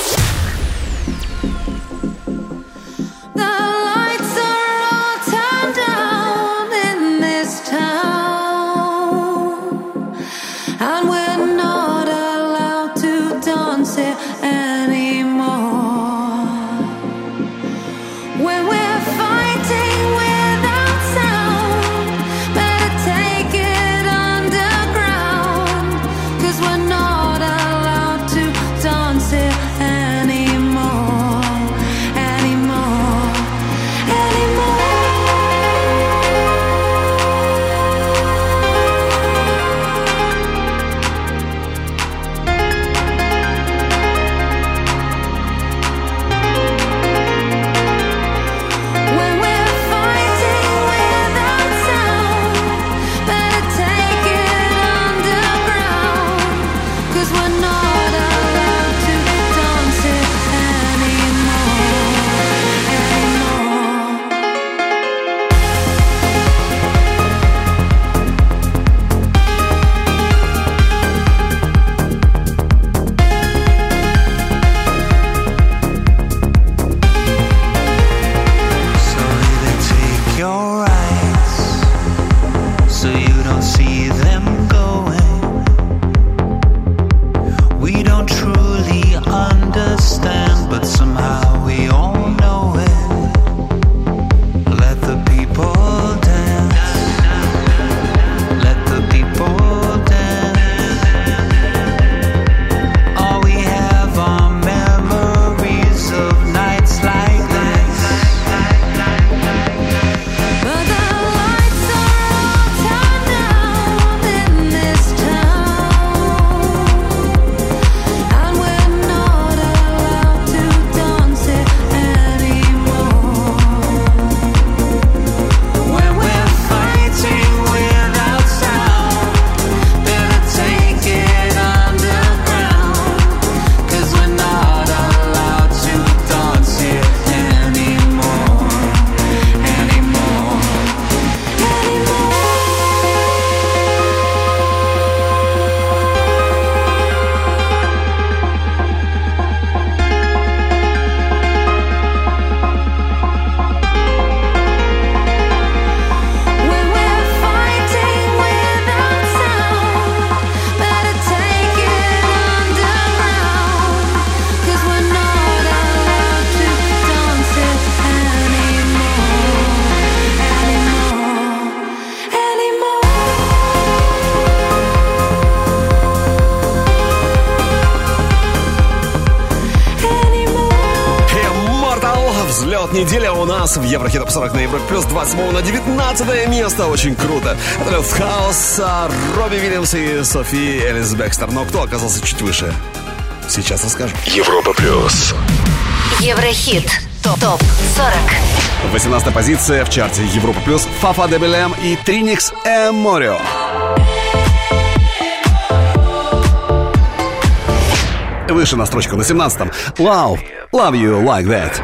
Неделя у нас в Еврохит топ сорок на Европе плюс двадцать седьмого на девятнадцатое место. Очень круто. Это Лев Хаус, Робби Уильямс и Софи Элис Бекстер. Но кто оказался чуть выше? Сейчас расскажу. Европа плюс. Еврохит топ сорок. восемнадцатая позиция в чарте Европа плюс. Фафа де Белем и Триникс Эморио. Выше на строчку на семнадцатом. Love, love you like that.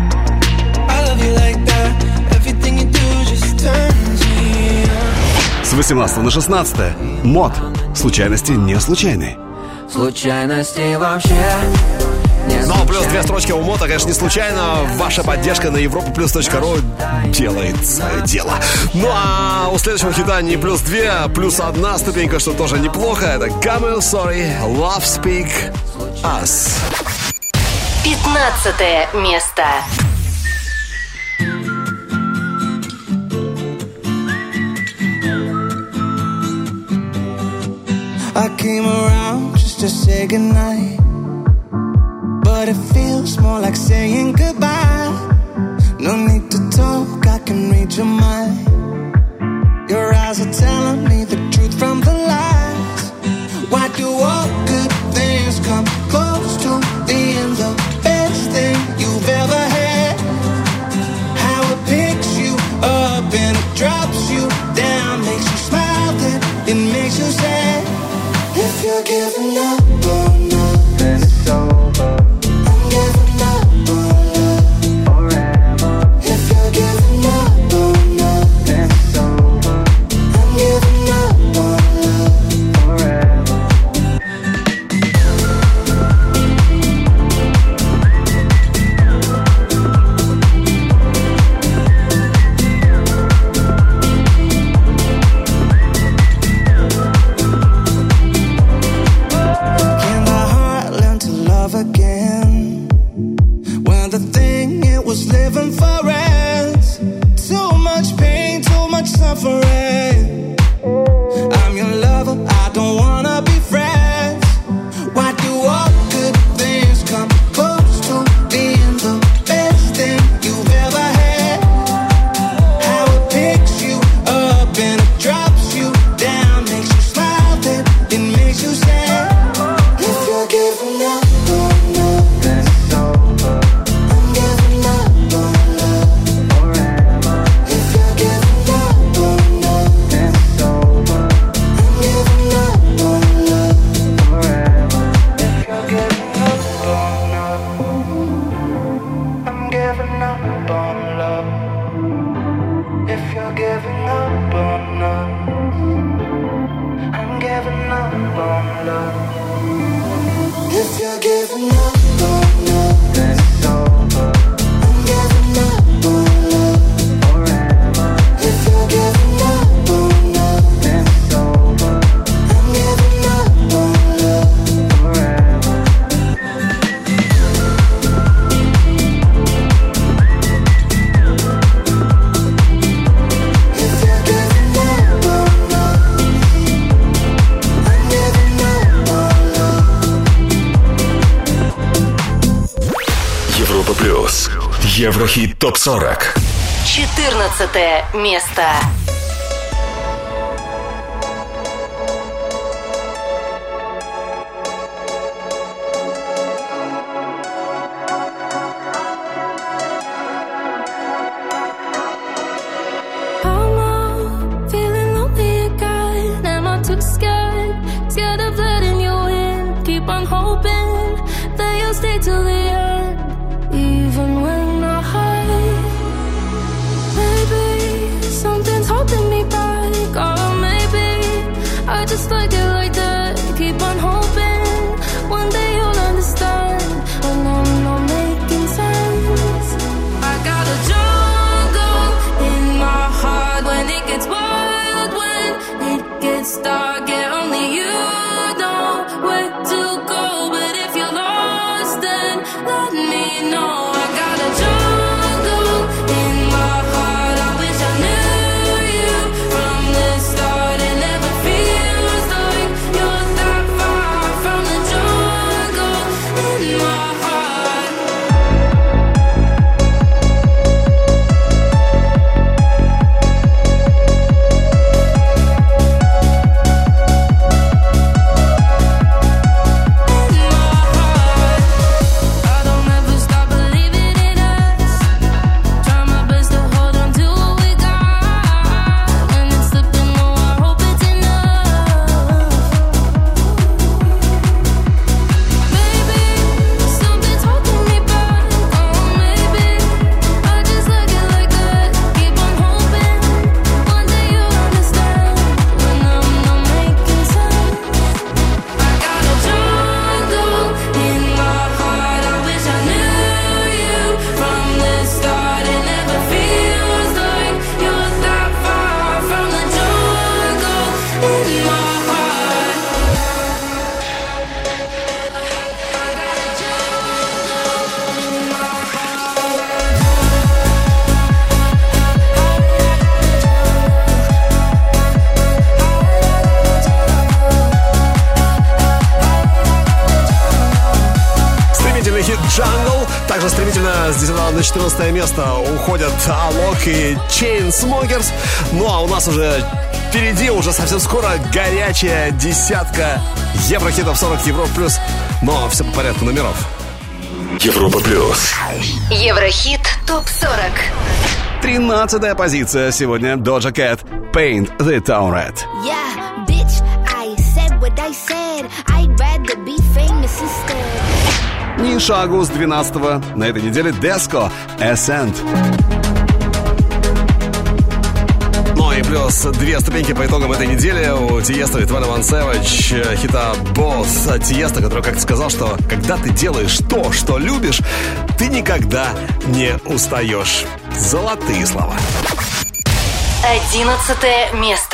С восемнадцатого на шестнадцатое. Мод. Случайности не случайны. Случайности вообще не Но плюс две строчки у Мота, конечно, не случайно. Ваша поддержка на европа плюс точка ру делает свое дело. Ну а у следующего хита не плюс две, а плюс одна ступенька, что тоже неплохо. Это Camel Sorry, Love Speak Us. пятнадцатое место. I came around just to say goodnight, but it feels more like saying goodbye. No need to talk, I can read your mind. Your eyes are telling me the truth from the lies. Why do all good things come close to being the best thing you've ever had? How it picks you up and it drops you down, makes you smile, then it makes you sad. If you're giving up on love, then it's over. I'm giving up on love forever. If you're giving up on love, then it's over. I'm плюс. Еврохит топ сорок. четырнадцатое место. Till the end, even when I hide. Maybe something's holding me back, or maybe I just like it like that. Keep on hoping one day you'll understand when I'm not making sense. I got a jungle in my heart when it gets wild, when it gets dark, and only you know where to go. But if you're lost, let me know. I got a jungle in my heart. I wish I knew you from the start. It never feels like you're that far from the jungle in my heart. Jungle. Также стремительно с десятого на четырнадцатое место уходят Алок и Chainsmokers. Ну а у нас уже впереди, уже совсем скоро, горячая десятка Еврохитов сорок, Европа плюс. Но все по порядку номеров. Европа плюс. Еврохит топ сорок. Тринадцатая позиция сегодня. Doja Cat, Paint the Town Red. Yeah, bitch, I said what I said. I'd rather be famous instead. Ни шагу с двенадцатого. На этой неделе Деско, Ascent. Ну и плюс две ступеньки по итогам этой недели у Тиесто и двадцать один Savage хита Boss. Тиесто, который как-то сказал, что когда ты делаешь то, что любишь, ты никогда не устаешь. Золотые слова. Одиннадцатое место.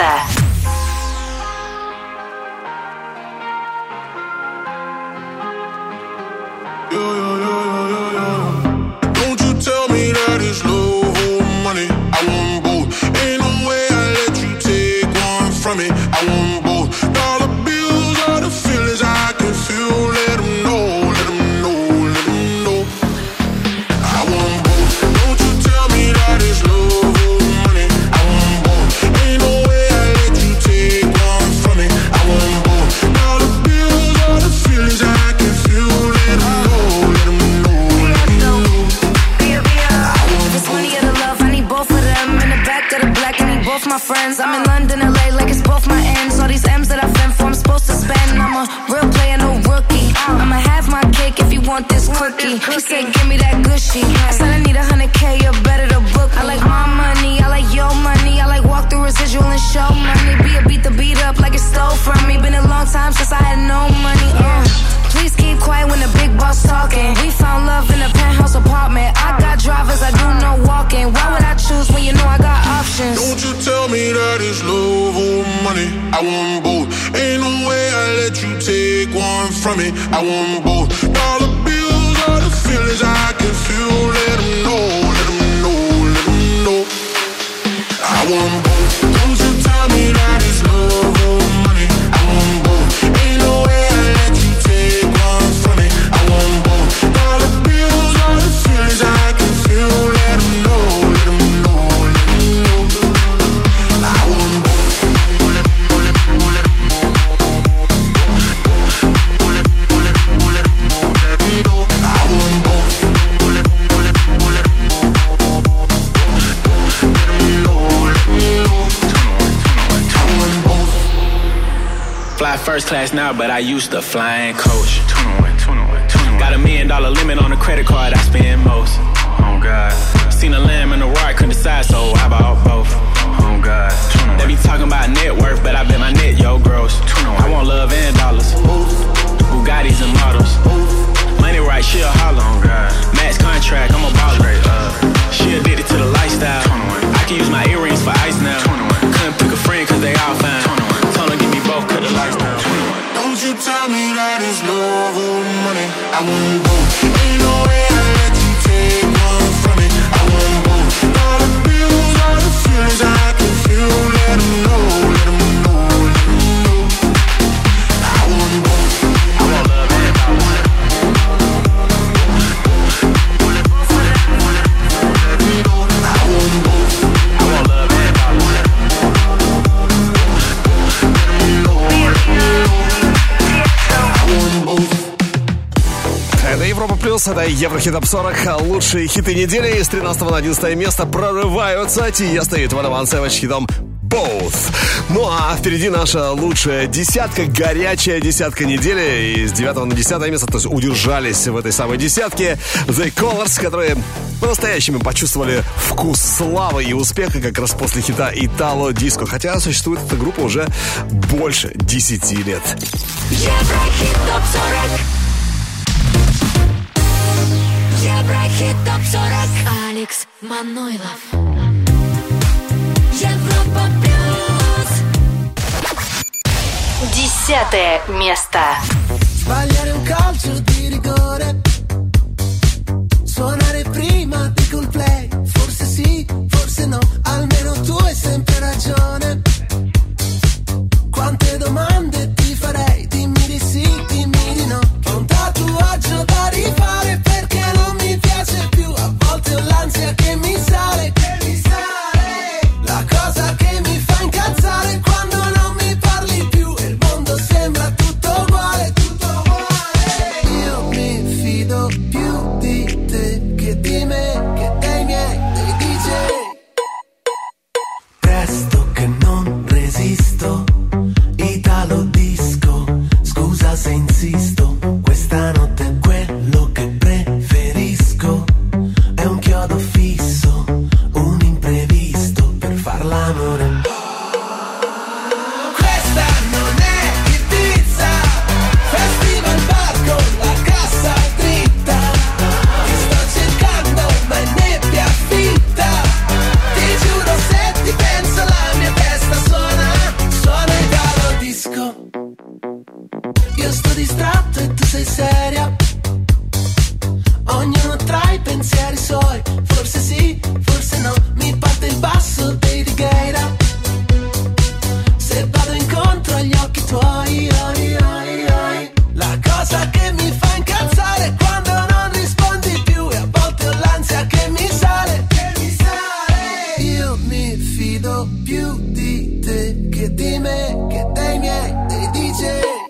Don't you tell me that it's love or money. I want both. Ain't no way I let you take one from me. I want both. Dollar bills are the feelings I can feel. Let them know, let them know, let them know. I want both. Don't you tell me that it's love or money. I want both. Ain't no way I let you take one from me. I want both. Dollar bills are the feelings I can feel. Let them know. My friends, I'm in London, L A, like it's both my ends. All these M's that I fend for, I'm supposed to spend. I'm a real player, no rookie. I'ma have my cake if you want this cookie. He said, give me that gushy. I said, I need a hundred K, you're better to book. I like my money, I like your money. I like walk through residual and show money. Be a beat the beat up like it stole from me. Been a long time since I had no money. Uh. Please keep quiet when the big boss talking. We found love in a penthouse apartment. I got drivers, I do no walking. Why would I choose when you know I got options? Don't you tell me that it's love or money. I want both. Ain't no way I let you take one from me. I want both. Dollar bills are the feelings I can feel. Let them know, let them know, let them know. I want both. Don't you tell me that it's love or money. I want both. Ain't no way I let you take one from me. I want both. Dollar bills are the feelings I first class now, but I used to fly in coach. Got a million dollar limit on the credit card I spend most. Oh God. Seen a lamb and a roar, I couldn't decide, so I bought both. Oh God. They be talking about net worth, but I bet my net, yo, gross. I want love and dollars. Bugattis and models. Money right, she a holler. Oh God. Max contract, I'm a baller. She addicted to the lifestyle. I can use my earrings for ice now. Couldn't pick a friend cause they all fine. Told her give me both, cut the lights down. Don't you tell me that it's love or money. I want both. Ain't no way I let you take one from me. I want both. All the bills, all the feelings I can feel. Let them know, let them know, let them know. I want both. I want love and I want it. Это Европа Плюс, это Еврохит Топ сорок. Лучшие хиты недели. С тринадцатого на одиннадцатое место прорываются Тиеста и двадцать один Savage хитом Both. Ну а впереди наша лучшая десятка, горячая десятка недели. И с девятого на десятое место, то есть удержались в этой самой десятке The Colors, которые по-настоящему почувствовали вкус славы и успеха как раз после хита Итало Диско. Хотя существует эта группа уже больше десяти лет. Еврохит Топ сорок. Еврохит Топ сорок. Алекс Манойлов. Европа Плюс. Десятое место. Sbagliare un calcio di rigore, suonare prima di col play. Forse sì, forse no, almeno tu hai sempre ragione. Quante domande ti farei, dimmi di sì, dimmi di no. Che un tatuaggio da rifare perché non mi piace più. A volte ho l'ansia che mi sale, che mi sale. La cosa che mi fa incazzare è quando non mi parli più e il mondo sembra tutto uguale, tutto uguale. Io mi fido più di te che di me, che dei miei, dei D J. Presto che non resisto, Italo Disco, scusa se insisto, questa notte è quello che preferisco, è un chiodo fisso, un imprevisto per far l'amore. Questa non è Ibiza, festival bar con la cassa dritta, ti sto cercando ma è nebbia fitta, ti giuro se ti penso la mia testa suona, suona Italo Disco. Io sto distratto e tu sei seria, ognuno tra i pensieri suoi, forse sì, forse no, mi parte il basso dei Righeira, se vado incontro agli occhi tuoi, oi, oi, oi. La cosa che mi fa incazzare è quando non rispondi più e a volte ho l'ansia che mi sale, che mi sale. Io mi fido più di te che di me, che dei miei, dei D J.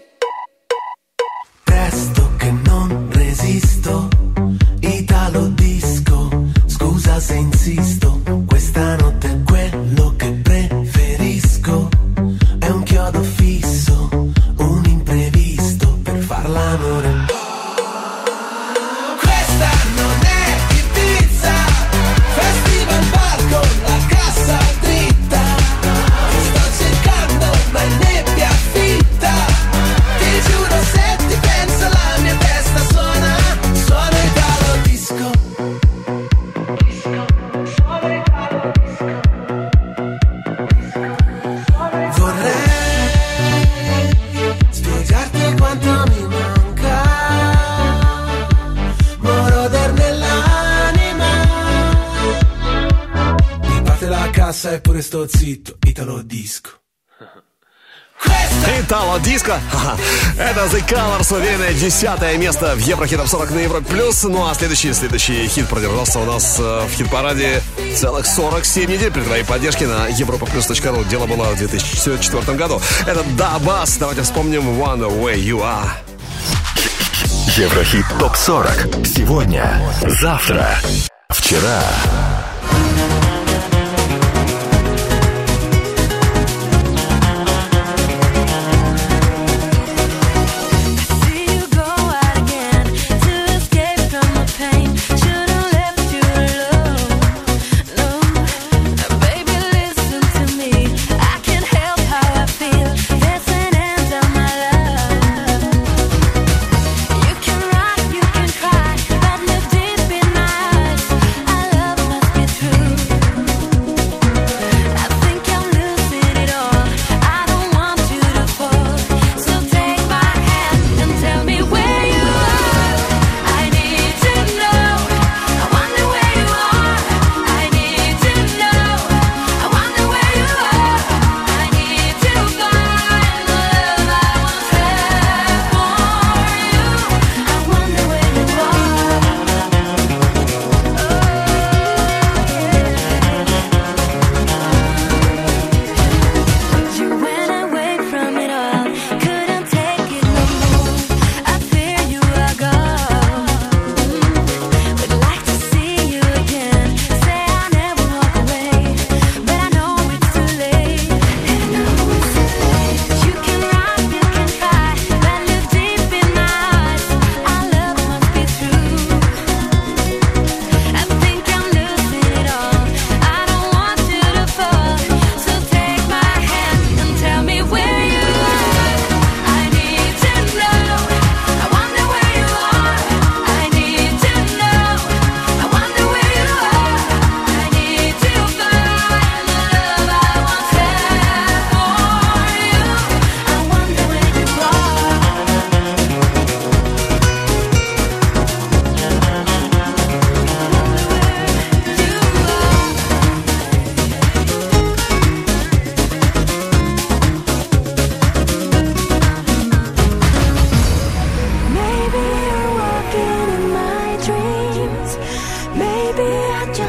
Presto che non resisto, Italo Disco, scusa se insisto, questa notte è quello che preferisco, è un chiodo fisso, un imprevisto per far l'amore. Questa non è Ibiza, festival bar con la cassa dritta, ti sto cercando ma è nebbia fitta, ti giuro se ti penso la mia testa suona, suona Italo Disco. Vorrei spiegarti quanto mi manca, moroder nell'anima. Mi parte la cassa eppure sto zitto, Italo Disco. Итало Диско. Это The Colors, уверенное десятое место в Еврохит Топ сорок на Европе Плюс. Ну а следующий, следующий хит продержался у нас в хит-параде целых сорок семь недель при твоей поддержке на европа плюс точка ру. Дело было в две тысячи четвёртом году. Это Да Бас. Давайте вспомним One Way You Are. Еврохит Топ сорок. Сегодня, завтра, вчера.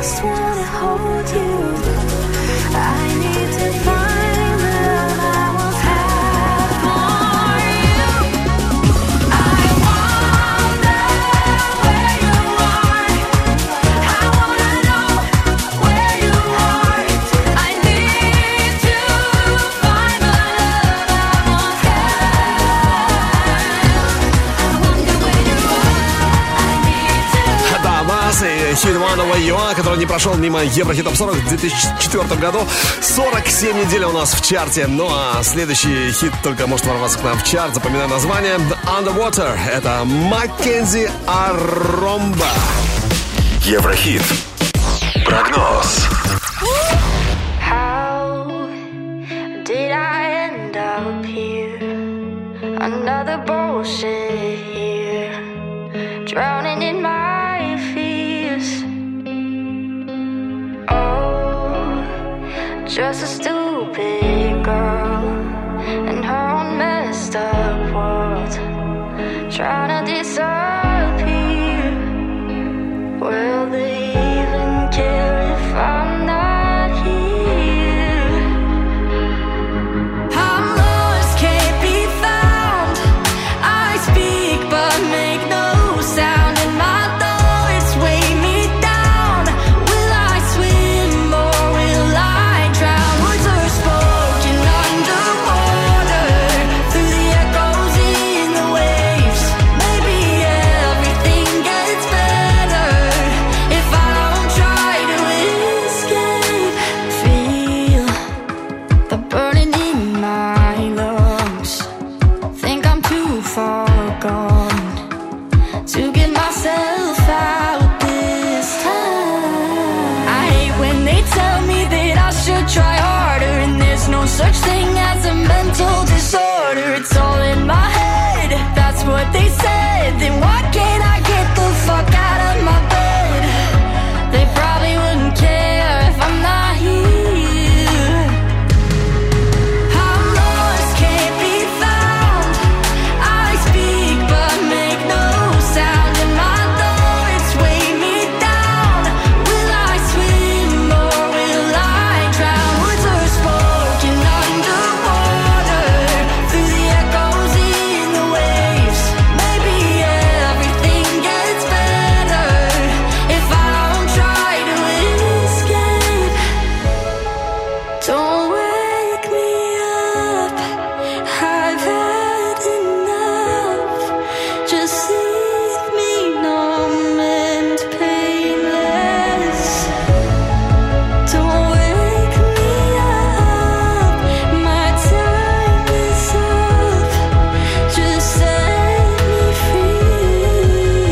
just wanna hold you. I need to find the love I once had for you. I wonder where you are. I wanna know where you are. I need to find the love I once had. I wonder where you are. I need to. Да, Бас и хит One Way You Are, который не прошел мимо Еврохит Топ сорок в две тысячи четвёртом году. сорок семь недель у нас в чарте. Ну а следующий хит только может ворваться к нам в чарт. Запоминаю название. Underwater. Это Маккензи Аромба. Еврохит. Прогноз. How did I end up here? Another bullshit here, drowning in my fears. Oh, just a stupid girl in her own messed up world, trying to disappear. Will they even care if I'm not here? I'm lost, can't be found. I speak but make no sound, and my thoughts weigh me down. Will I swim or will I drown? Words are spoken underwater, through the echoes in the waves. Maybe everything gets better if I don't try to escape. Feel the burning in my lungs. Think I'm too far gone to get myself out this time. I hate when they tell me that I should try harder, and there's no such thing as a mental disorder. It's all in my head, that's what they said. Then why can't I get the fuck out of my bed? They probably wouldn't care if I'm not here. I'm lost, can't be found. I speak but make no sound, and my thoughts weigh me down. Will I swim or will I drown? Words are spoken underwater, through the echoes in the waves. Maybe everything gets better if I don't try to escape. Don't wake me up, I've had enough. Just leave me numb and painless. Don't wake me up, my time is up. Just set me free.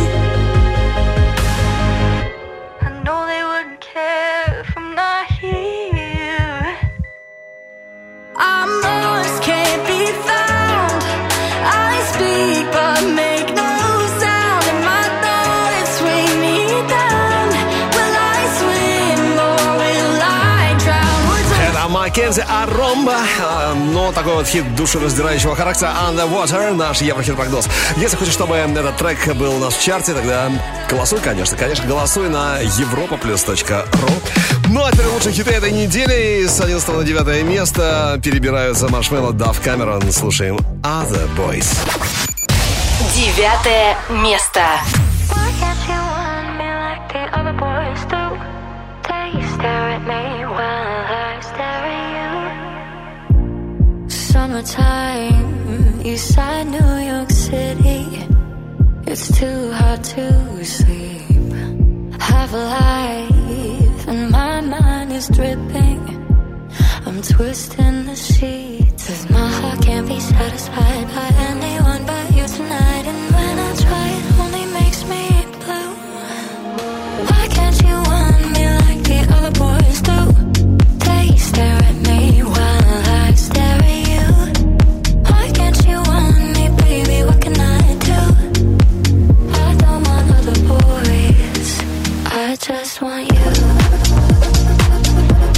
I know they wouldn't care if I'm not here. I'm lost, can't be found. I speak but make no sound, and my thoughts weigh me down. Will I swim or will I drown? Words are Это Маккензи Аромба. Но такой вот хит душераздирающего характера. Underwater. Наш Еврохит-прогноз. Если хочешь, чтобы этот трек был у нас в чарте, тогда голосуй, конечно. Конечно, голосуй на европа плюс точка ру. Ну, а теперь лучшие хиты этой недели. С одиннадцатого на девятое место перебираются Маршмелло, Дав Камерон. Слушаем Other Boys. Девятое место. Why can't you want me like the other boys do? They stare at me while I stare at you. Summertime, Eastside New York City. It's too hard to sleep. Have a life and my mind is dripping. I'm twisting the sheets, 'cause my heart can't be satisfied by anyone but you tonight. And when I try, it only makes me blue. Why can't you want me like the other boys do? They stare at me while I stare at you. Why can't you want me, baby? What can I do? I don't want other boys, I just want you.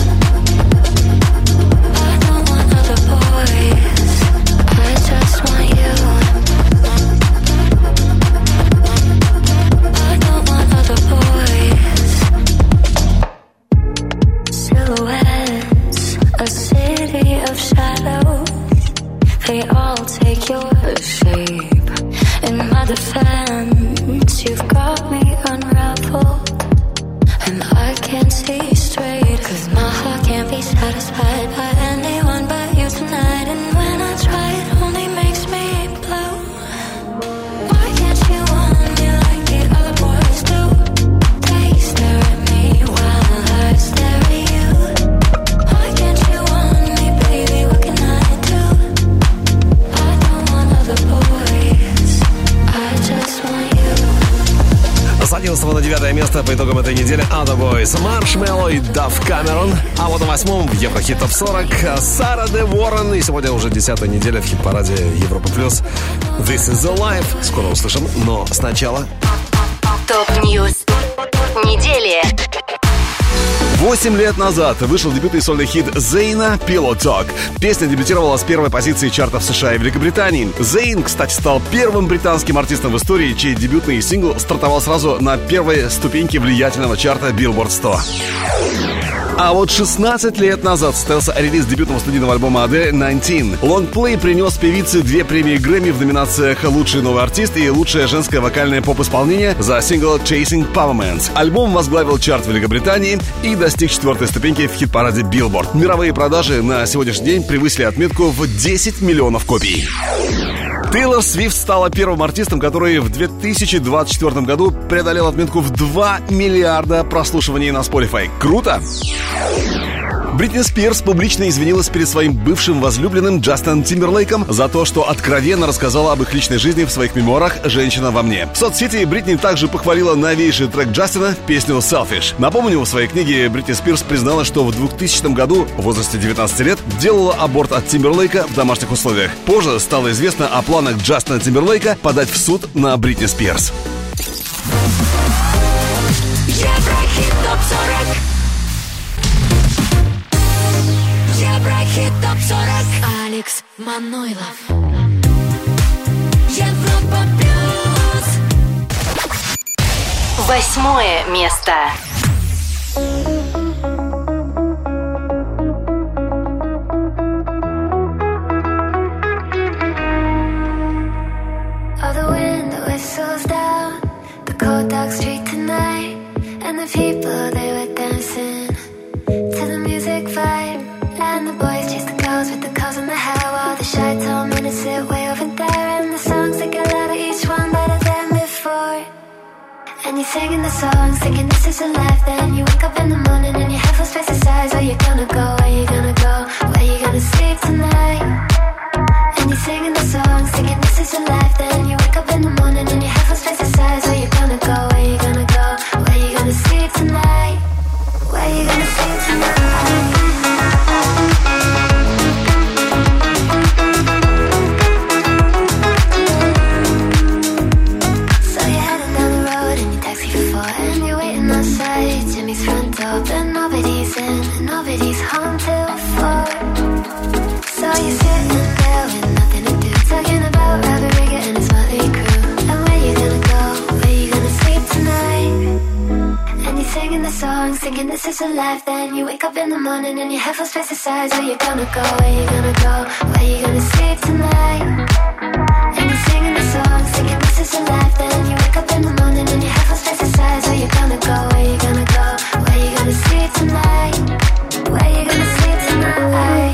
I don't want other boys, I just want you. the fence. You've got me unraveled, and I can't see straight. Cause my heart can't be satisfied by anyone but you tonight. And when I try, it only makes me blue. Why can't you want me like the other boys do? They stare at me while I stare at you. Why can't you want me, baby? What can I do? I don't want other boys, I just want you. С одиннадцатого на девятое место по итогам этой недели Other Boys, Маршмелло и Дав Камерон. А вот на восьмом в Еврохит Топ сорок Сара Де Уоррен. И сегодня уже десятая неделя в хит-параде Европа Плюс. This is the life. Скоро услышим, но сначала Топ-ньюс недели. Восемь лет назад вышел дебютный сольный хит Зейна «Pillow Talk». Песня дебютировала с первой позиции чартов США и Великобритании. Зейн, кстати, стал первым британским артистом в истории, чей дебютный сингл стартовал сразу на первой ступеньке влиятельного чарта Billboard сто. А вот шестнадцать лет назад состоялся релиз дебютного студийного альбома Адель «девятнадцать». Лонгплей принес певице две премии Грэмми в номинациях «Лучший новый артист» и «Лучшее женское вокальное поп-исполнение» за сингл «Chasing Pavements». Альбом возглавил чарт Великобритании и достиг четвертой ступеньки в хит-параде Billboard. Мировые продажи на сегодняшний день превысили отметку в десять миллионов копий. Тейлор Свифт стала первым артистом, который в две тысячи двадцать четвёртом году преодолел отметку в два миллиарда прослушиваний на Spotify. Круто! Бритни Спирс публично извинилась перед своим бывшим возлюбленным Джастином Тимберлейком за то, что откровенно рассказала об их личной жизни в своих мемуарах «Женщина во мне». В соцсети Бритни также похвалила новейший трек Джастина, песню «Selfish». Напомню, в своей книге Бритни Спирс признала, что в двухтысячном году, в возрасте девятнадцати лет, делала аборт от Тимберлейка в домашних условиях. Позже стало известно о планах Джастина Тимберлейка подать в суд на Бритни Спирс. Еврохит топ сорок. Еврохит топ сорок. Алекс Манойлов. Европа плюс. Восьмое место. All the window whistles down the cold dark street tonight, and the people they were dancing to the music vibe. And the boys chase the girls with the curls in their hair, while the shy tall men sit way over there. And the songs they get louder, each one better than before. And you're singing the songs, thinking this is a life. Then you wake up in the morning and your head feels twice the size. Where you gonna go? Where you gonna go? Where you gonna sleep tonight? And you're singing the songs, thinking this is a life. Then you wake up in the morning and your head feels twice the size. Where you gonna go? Where you gonna go? Where you gonna sleep tonight? Where you gonna sleep tonight? But nobody's in, and nobody's home till four. So you're sitting there with nothing to do, talking about Robert Rigger and his motley crew. And where you gonna go? Where you gonna sleep tonight? And you're singing the songs, thinking this is a life. Then you wake up in the morning and your head feels twice the size. Where you gonna go? Where you gonna go? Where you gonna sleep tonight? And you're singing the songs, thinking this is a life. Then you wake up in the morning and your head feels twice the size. Where you gonna go? Where you gonna go? Where you gonna sleep tonight? Where you gonna sleep tonight?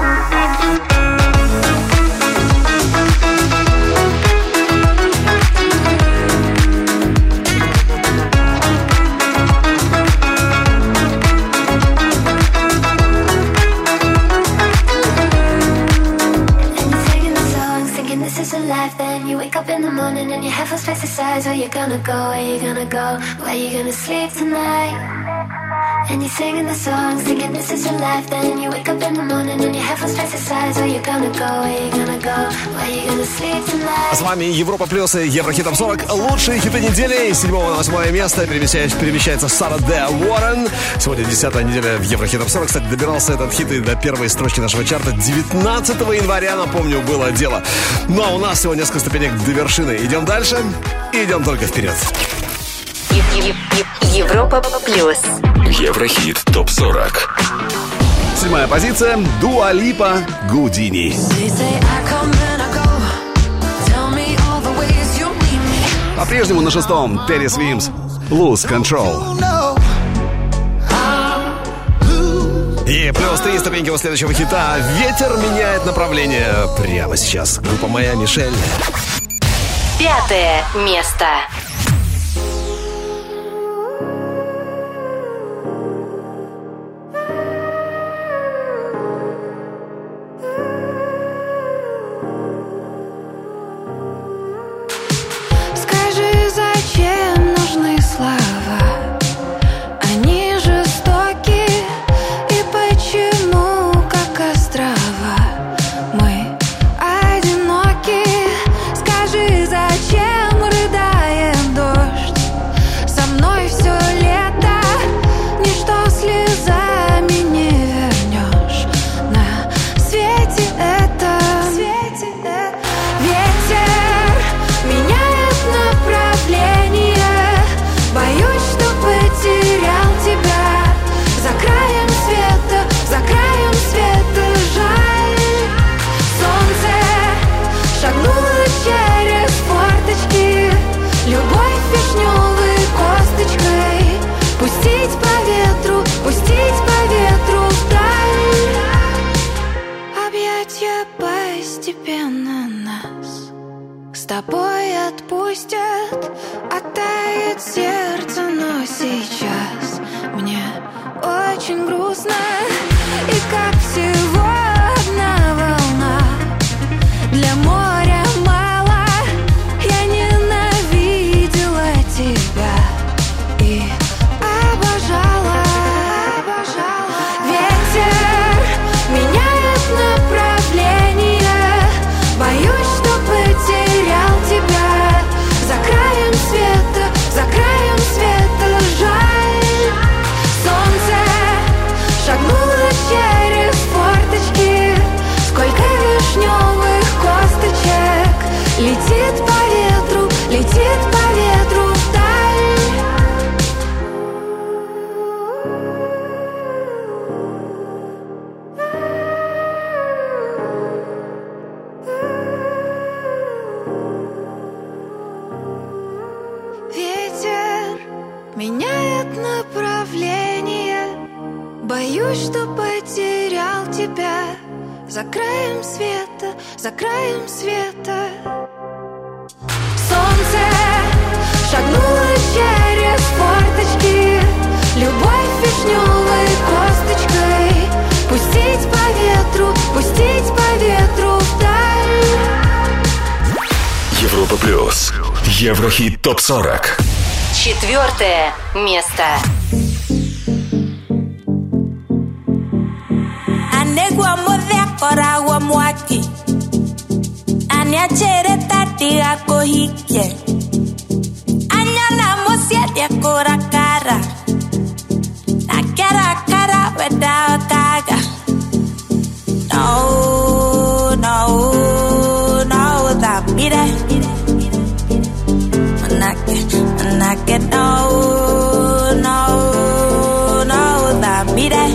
Then you wake up in the morning and your head feels twice the size. Where you gonna go? Where you gonna go? Where you gonna sleep tonight? And you're singing the songs, thinking this is your life. Then you wake up in the morning and your head feels twice the size. Where you gonna go? Where you gonna go? Where you gonna sleep tonight? С вами Европа Плюс и Еврохит Топ сорок. Лучшие хиты недели. С седьмого на восьмое место перемещается, перемещается Сара Де Уоррен. Сегодня десятая неделя в Еврохит Топ сорок. Кстати, добирался этот хит и до первой строчки нашего чарта девятнадцатого января, напомню, было дело. Ну а у нас всего несколько ступенек до вершины. Идем дальше и идем только вперед. Европа Плюс. Еврохит Топ сорок. Седьмая позиция. Дуа Липа, Гудини. По-прежнему на шестом Терри Свимс «Lose Control». И плюс три ступеньки у следующего хита. Ветер меняет направление. Прямо сейчас. Группа «Моя Мишель». Пятое место. Скажи, зачем нужны слова? Они жестоки, и почему, как острова, мы одиноки? Скажи, зачем рыдает дождь? Со мной все лето, ничто слезами не вернешь. На свете это ветер меняет направление. Боюсь, что потерял тебя за краем света, за краем света. Жаль, солнце шагнуло через форточки. Любовь вишневой косточкой. Пустить по ветру, пустить по ветру вдаль. Объятья постепенно нас с тобой отпустят. Оттает сердце, но сейчас мне очень грустно. И как всего одна волна для моря мало. Я ненавидела тебя и обожала. Ветер меняет направление. Боюсь, что потерял тебя за краем света, за краем света. Жаль, солнце шагнуло через форточки. Сколько вишневых косточек летит по ветру, летит по ветру вдаль. Ветер меняет направление. Боюсь, что потерял тебя за краем света, за краем света. Солнце шагнуло через форточки. Любовь вишневой косточкой. Пустить по ветру, пустить по ветру вдаль. Европа плюс. Еврохит топ сорок. Четвертое место. Anegwa modhia kora wa mwaki. Anya chere tati ako hike. Anya na mosia dia kora kara. Na kara kara without kaga. No, no, no, that be that. Manake, manake, no, no, no, that be that.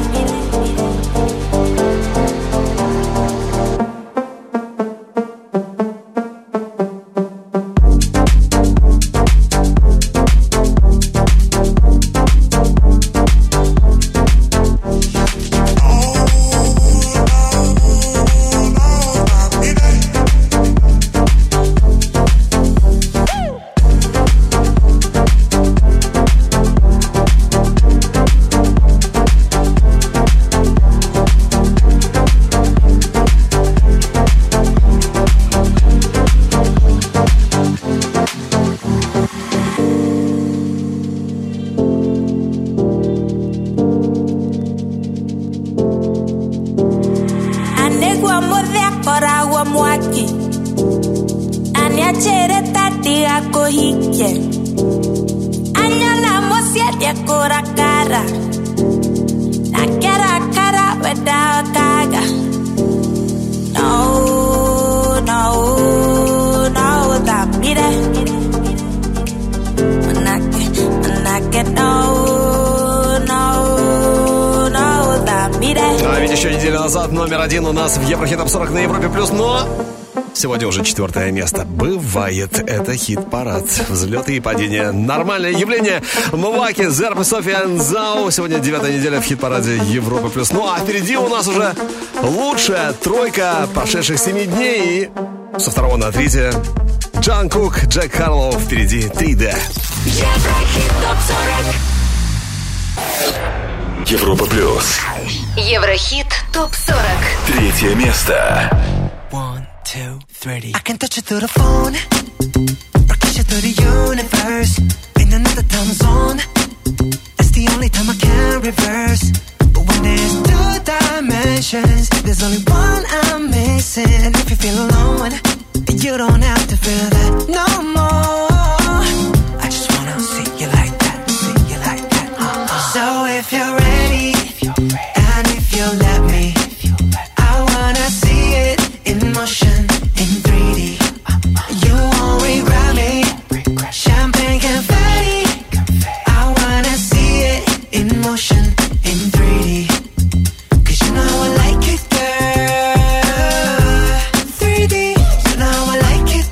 А ведь еще неделю назад номер один у нас в Еврохит топ сорок на Европе плюс, но Сегодня уже четвертое место. Бывает, это хит-парад. Взлеты и падения. Нормальное явление. Мваки, Зерб и Софиан Зау. Сегодня девятая неделя в хит-параде Европа плюс. Ну а впереди у нас уже лучшая тройка прошедших семи дней. И со второго на третье Джанкук, Джек Харлоу. Впереди три дэ. Еврохит топ сорок. Европа плюс. Еврохит топ сорок. Третье место. Two, three. I can touch you through the phone, broadcast you through the universe, in another time zone. That's the only time I can reverse. But when there's two dimensions, there's only one I'm missing. If you feel alone, you don't have to feel that no more. I just wanna see you like that, see you like that. Uh-uh. So if you're ready, if you're ready, and if you let me, I wanna see it in motion, in three D. You won't regret me. Champagne confetti. I wanna see it in motion, in three D. Cause you know I like it, girl. three D. You know I like it,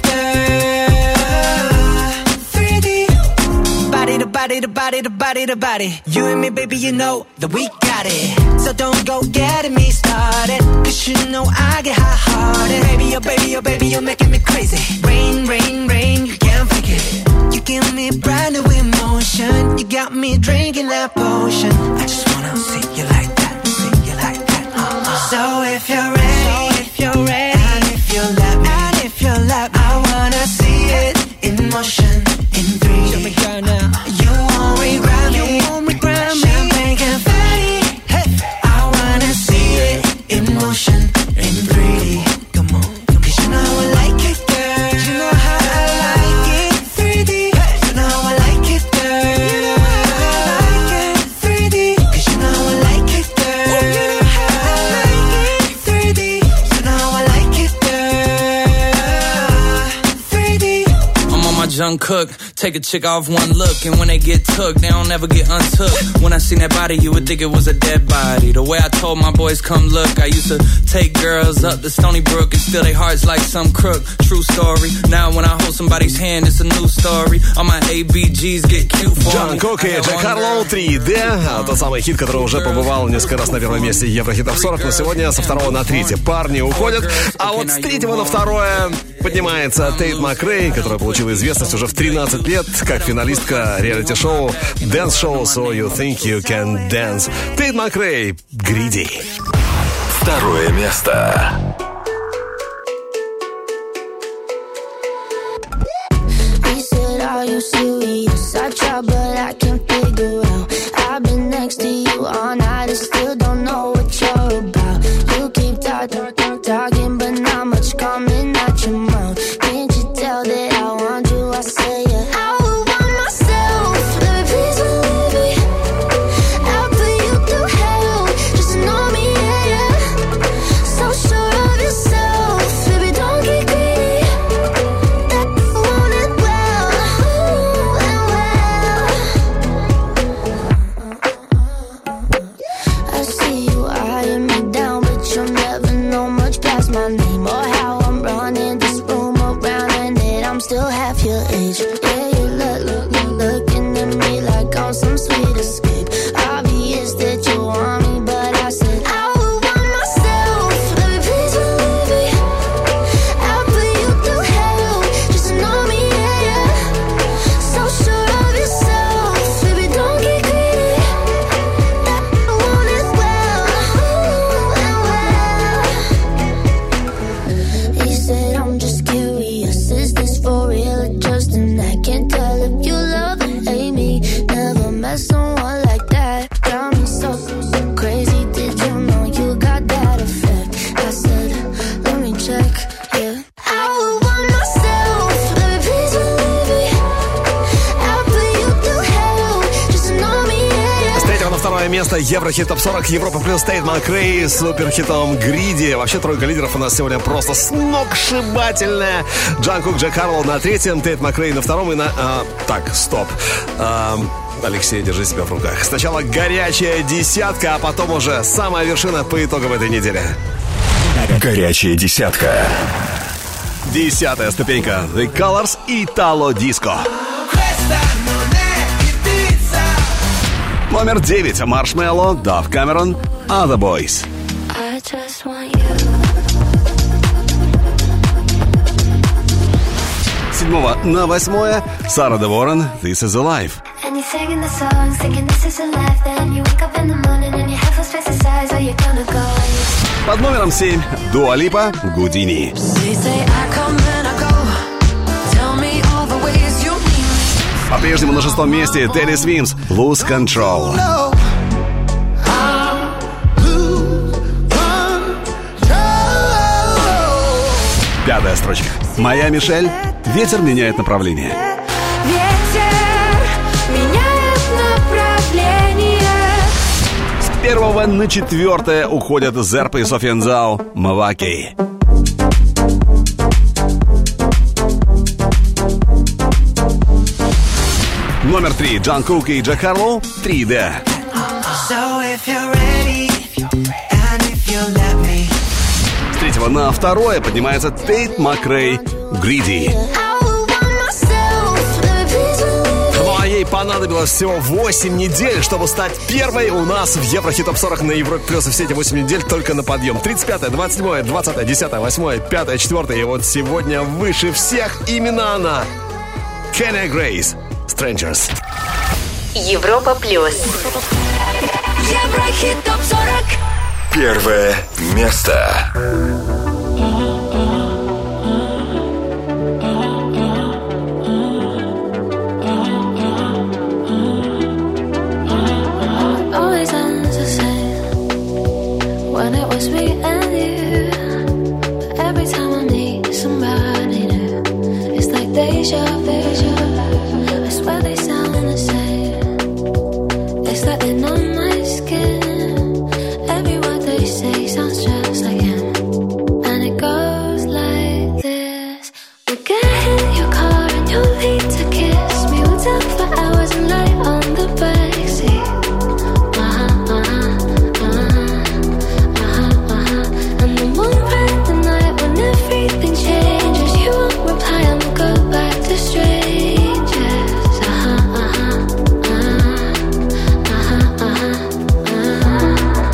girl. three D. Body to body to body to body to body. You and me, baby, you know that we got it. So don't go getting me started, cause you know I get hot-hearted. Baby, oh baby, oh baby, you're making me crazy. Rain, rain, rain, you can't fake it. You give me brand new emotion. You got me drinking that potion. I just wanna see you like that, see you like that. Uh-uh. So if you're ready, so if you're ready, and if you let me, and if you let me, I wanna see it in motion, in three D. Show me girl now. You won't regret me, you won't regret me. Champagne confetti. Hey, I wanna see it in motion, in three D. Come on, cause you know I like it, girl. You know how I like it, three D. You know I like it, girl. You know how I like it, three D. Cause you know I like it, girl. You know how I like it, three D. You know I like it, girl. three D. I'm on my Junk Cook. Take a chick off one look, and when they get took, they don't ever get untook. When I seen that body, you would think it was a dead body. The way I told my boys, come look, I used to take girls up to Stony Brook and steal their hearts like some crook. True story. Now when I hold somebody's hand, it's a new story. All my A B Gs get cute for me. Джанкук и Джек Харлоу, три дэ. Тот самый хит, который уже побывал несколько раз на первом месте Еврохит топ сорок, но сегодня со второго на третье парни уходят. А вот с третьего на второе поднимается Тейт Макрей, которая получила известность уже в тринадцать лет как финалистка реалити-шоу Dance Show So You Think You Can Dance. Тейт Макрей, Greedy. Второе место. He said, are you serious? I try, but I can't figure out. I've been next to you all night and still don't know what you're about. You keep talking, talking, but not much coming out your mouth. Can't you tell that I want you? I say it. I would want myself. Let me please believe me. I'll put you through hell. Just to know me, yeah, yeah. So sure of yourself. Baby, don't get greedy. That I want it well. Ooh, and well. I see you eyeing me down, but you'll never know much past my name or how I'm running this room around, and that I'm still half your age. Yeah, you look, look, look, looking at me like I'm some sweet escape. Obvious that you want me, but I said I would want myself. Let me please believe me. I'll put you through hell just to know me, yeah, yeah. So sure of yourself, baby, don't get greedy. That I want it well, ooh, and well. He said, I'm just curious, is this for real or just an act? Can't tell if you love or hate me. Never met someone like that. Got me so, so crazy. Did you know you got that effect? I said, let me check, yeah. I would want myself. Let me please believe me. I'll put you through hell just to know me, yeah, yeah. С третьего на второе место Еврохит топ сорок, Европа плюс, Тейт Макрей с суперхитом Greedy. Вообще тройка лидеров у нас сегодня просто сногсшибательная. Джанкук, Джек Харлоу на третьем, Тейт Макрей на втором и на... а, так, стоп. А, Алексей, держи себя в руках. Сначала горячая десятка, а потом уже самая вершина по итогам этой недели. Горячая десятка. Десятая ступенька. The Colors и Italo Disco. Номер девять. Marshmello, Dove Cameron, Other Boys. I just want you. Седьмого на восьмое. Сара де Ворон, This is a Life. And you're singing the songs, thinking this is a life. Then you wake up in the morning and your head feels pesticides. Where you gonna go? Под номером семь. Дуа Липа, Гудини. По-прежнему на шестом месте Тедди Свимс, Lose Control. Пятая строчка. Моя Мишель, Ветер меняет направление. Ветер меняет направление. С первого на четвертое уходят Зерп и Софьян Зау, Маваки. Номер три. Джон Кук и Джек Харлоу, три дэ. С третьего на второе поднимается Тейт Макрей, Greedy. Ну а ей понадобилось всего восемь недель, чтобы стать первой у нас в Еврохит Топ сорок на Европе Плюс. И все эти восемь недель только на подъем. тридцать пятое, двадцать седьмое, двадцатое, десятое, восьмое, пятое, четвертое. И вот сегодня выше всех именно она. Кенни Грейс, Strangers. Европа Плюс. Еврохит Топ сорок. Первое место. Always ends the same when it was me and you. But every time I meet somebody new, it's like deja vu. I swear they sound the same. It's like they know my skin. Every word they say sounds just like him. And it goes like this. We'll get in your car and you'll need to kiss me. We'll talk for hours and lie on the backseat. Uh-huh, uh-huh, uh-huh, uh-huh, uh-huh. And then we'll ride the night when everything changes. You won't reply and we'll go back to strangers. Uh-huh, uh-huh, uh-huh, uh-huh, uh-huh.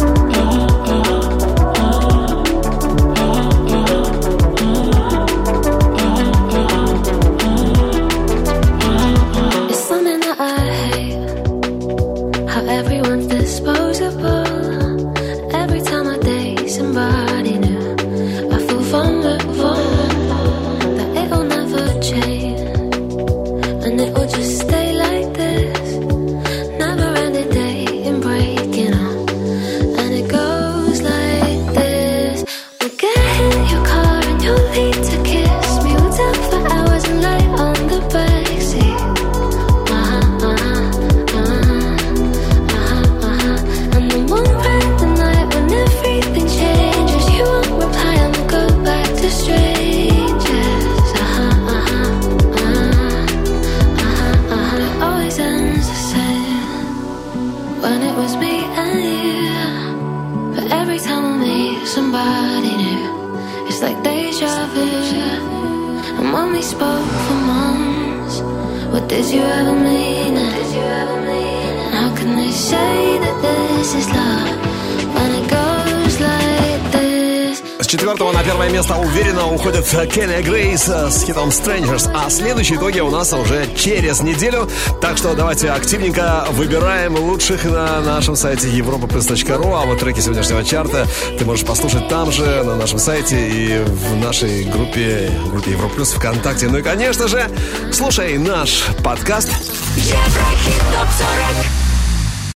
It's something that I hate, how everyone's disposable. Every time I date somebody new, I feel vulnerable, that it'll never change, and it will just stay like this. Never ending dating, breaking up, and it goes like this. We'll get in your car and you'll need to kiss me. We'll talk for hours and lie on the backseat. Uh-huh, uh-huh, uh-huh, uh-huh, uh-huh. And then we'll ride the night when everything changes. You won't reply and we'll go back to strangers. Uh-huh, uh-huh, uh-huh, uh-huh, uh-huh. It always ends the same when it was me and you. But every time I meet somebody new, it's like deja vu. And when we spoke for months, what did you ever mean? And how can they say that this is love when it goes like this? С четвертого на первое место уверенно уходит Кенни Грейс с хитом Strangers. А следующие итоги у нас уже через неделю. Так что давайте активненько выбираем лучших на нашем сайте европа плюс точка ру. А вот треки сегодняшнего чарта ты можешь послушать там же, на нашем сайте и в нашей группе, группе Европа Плюс ВКонтакте. Ну и, конечно же, слушай наш подкаст. Еврохит Топ сорок.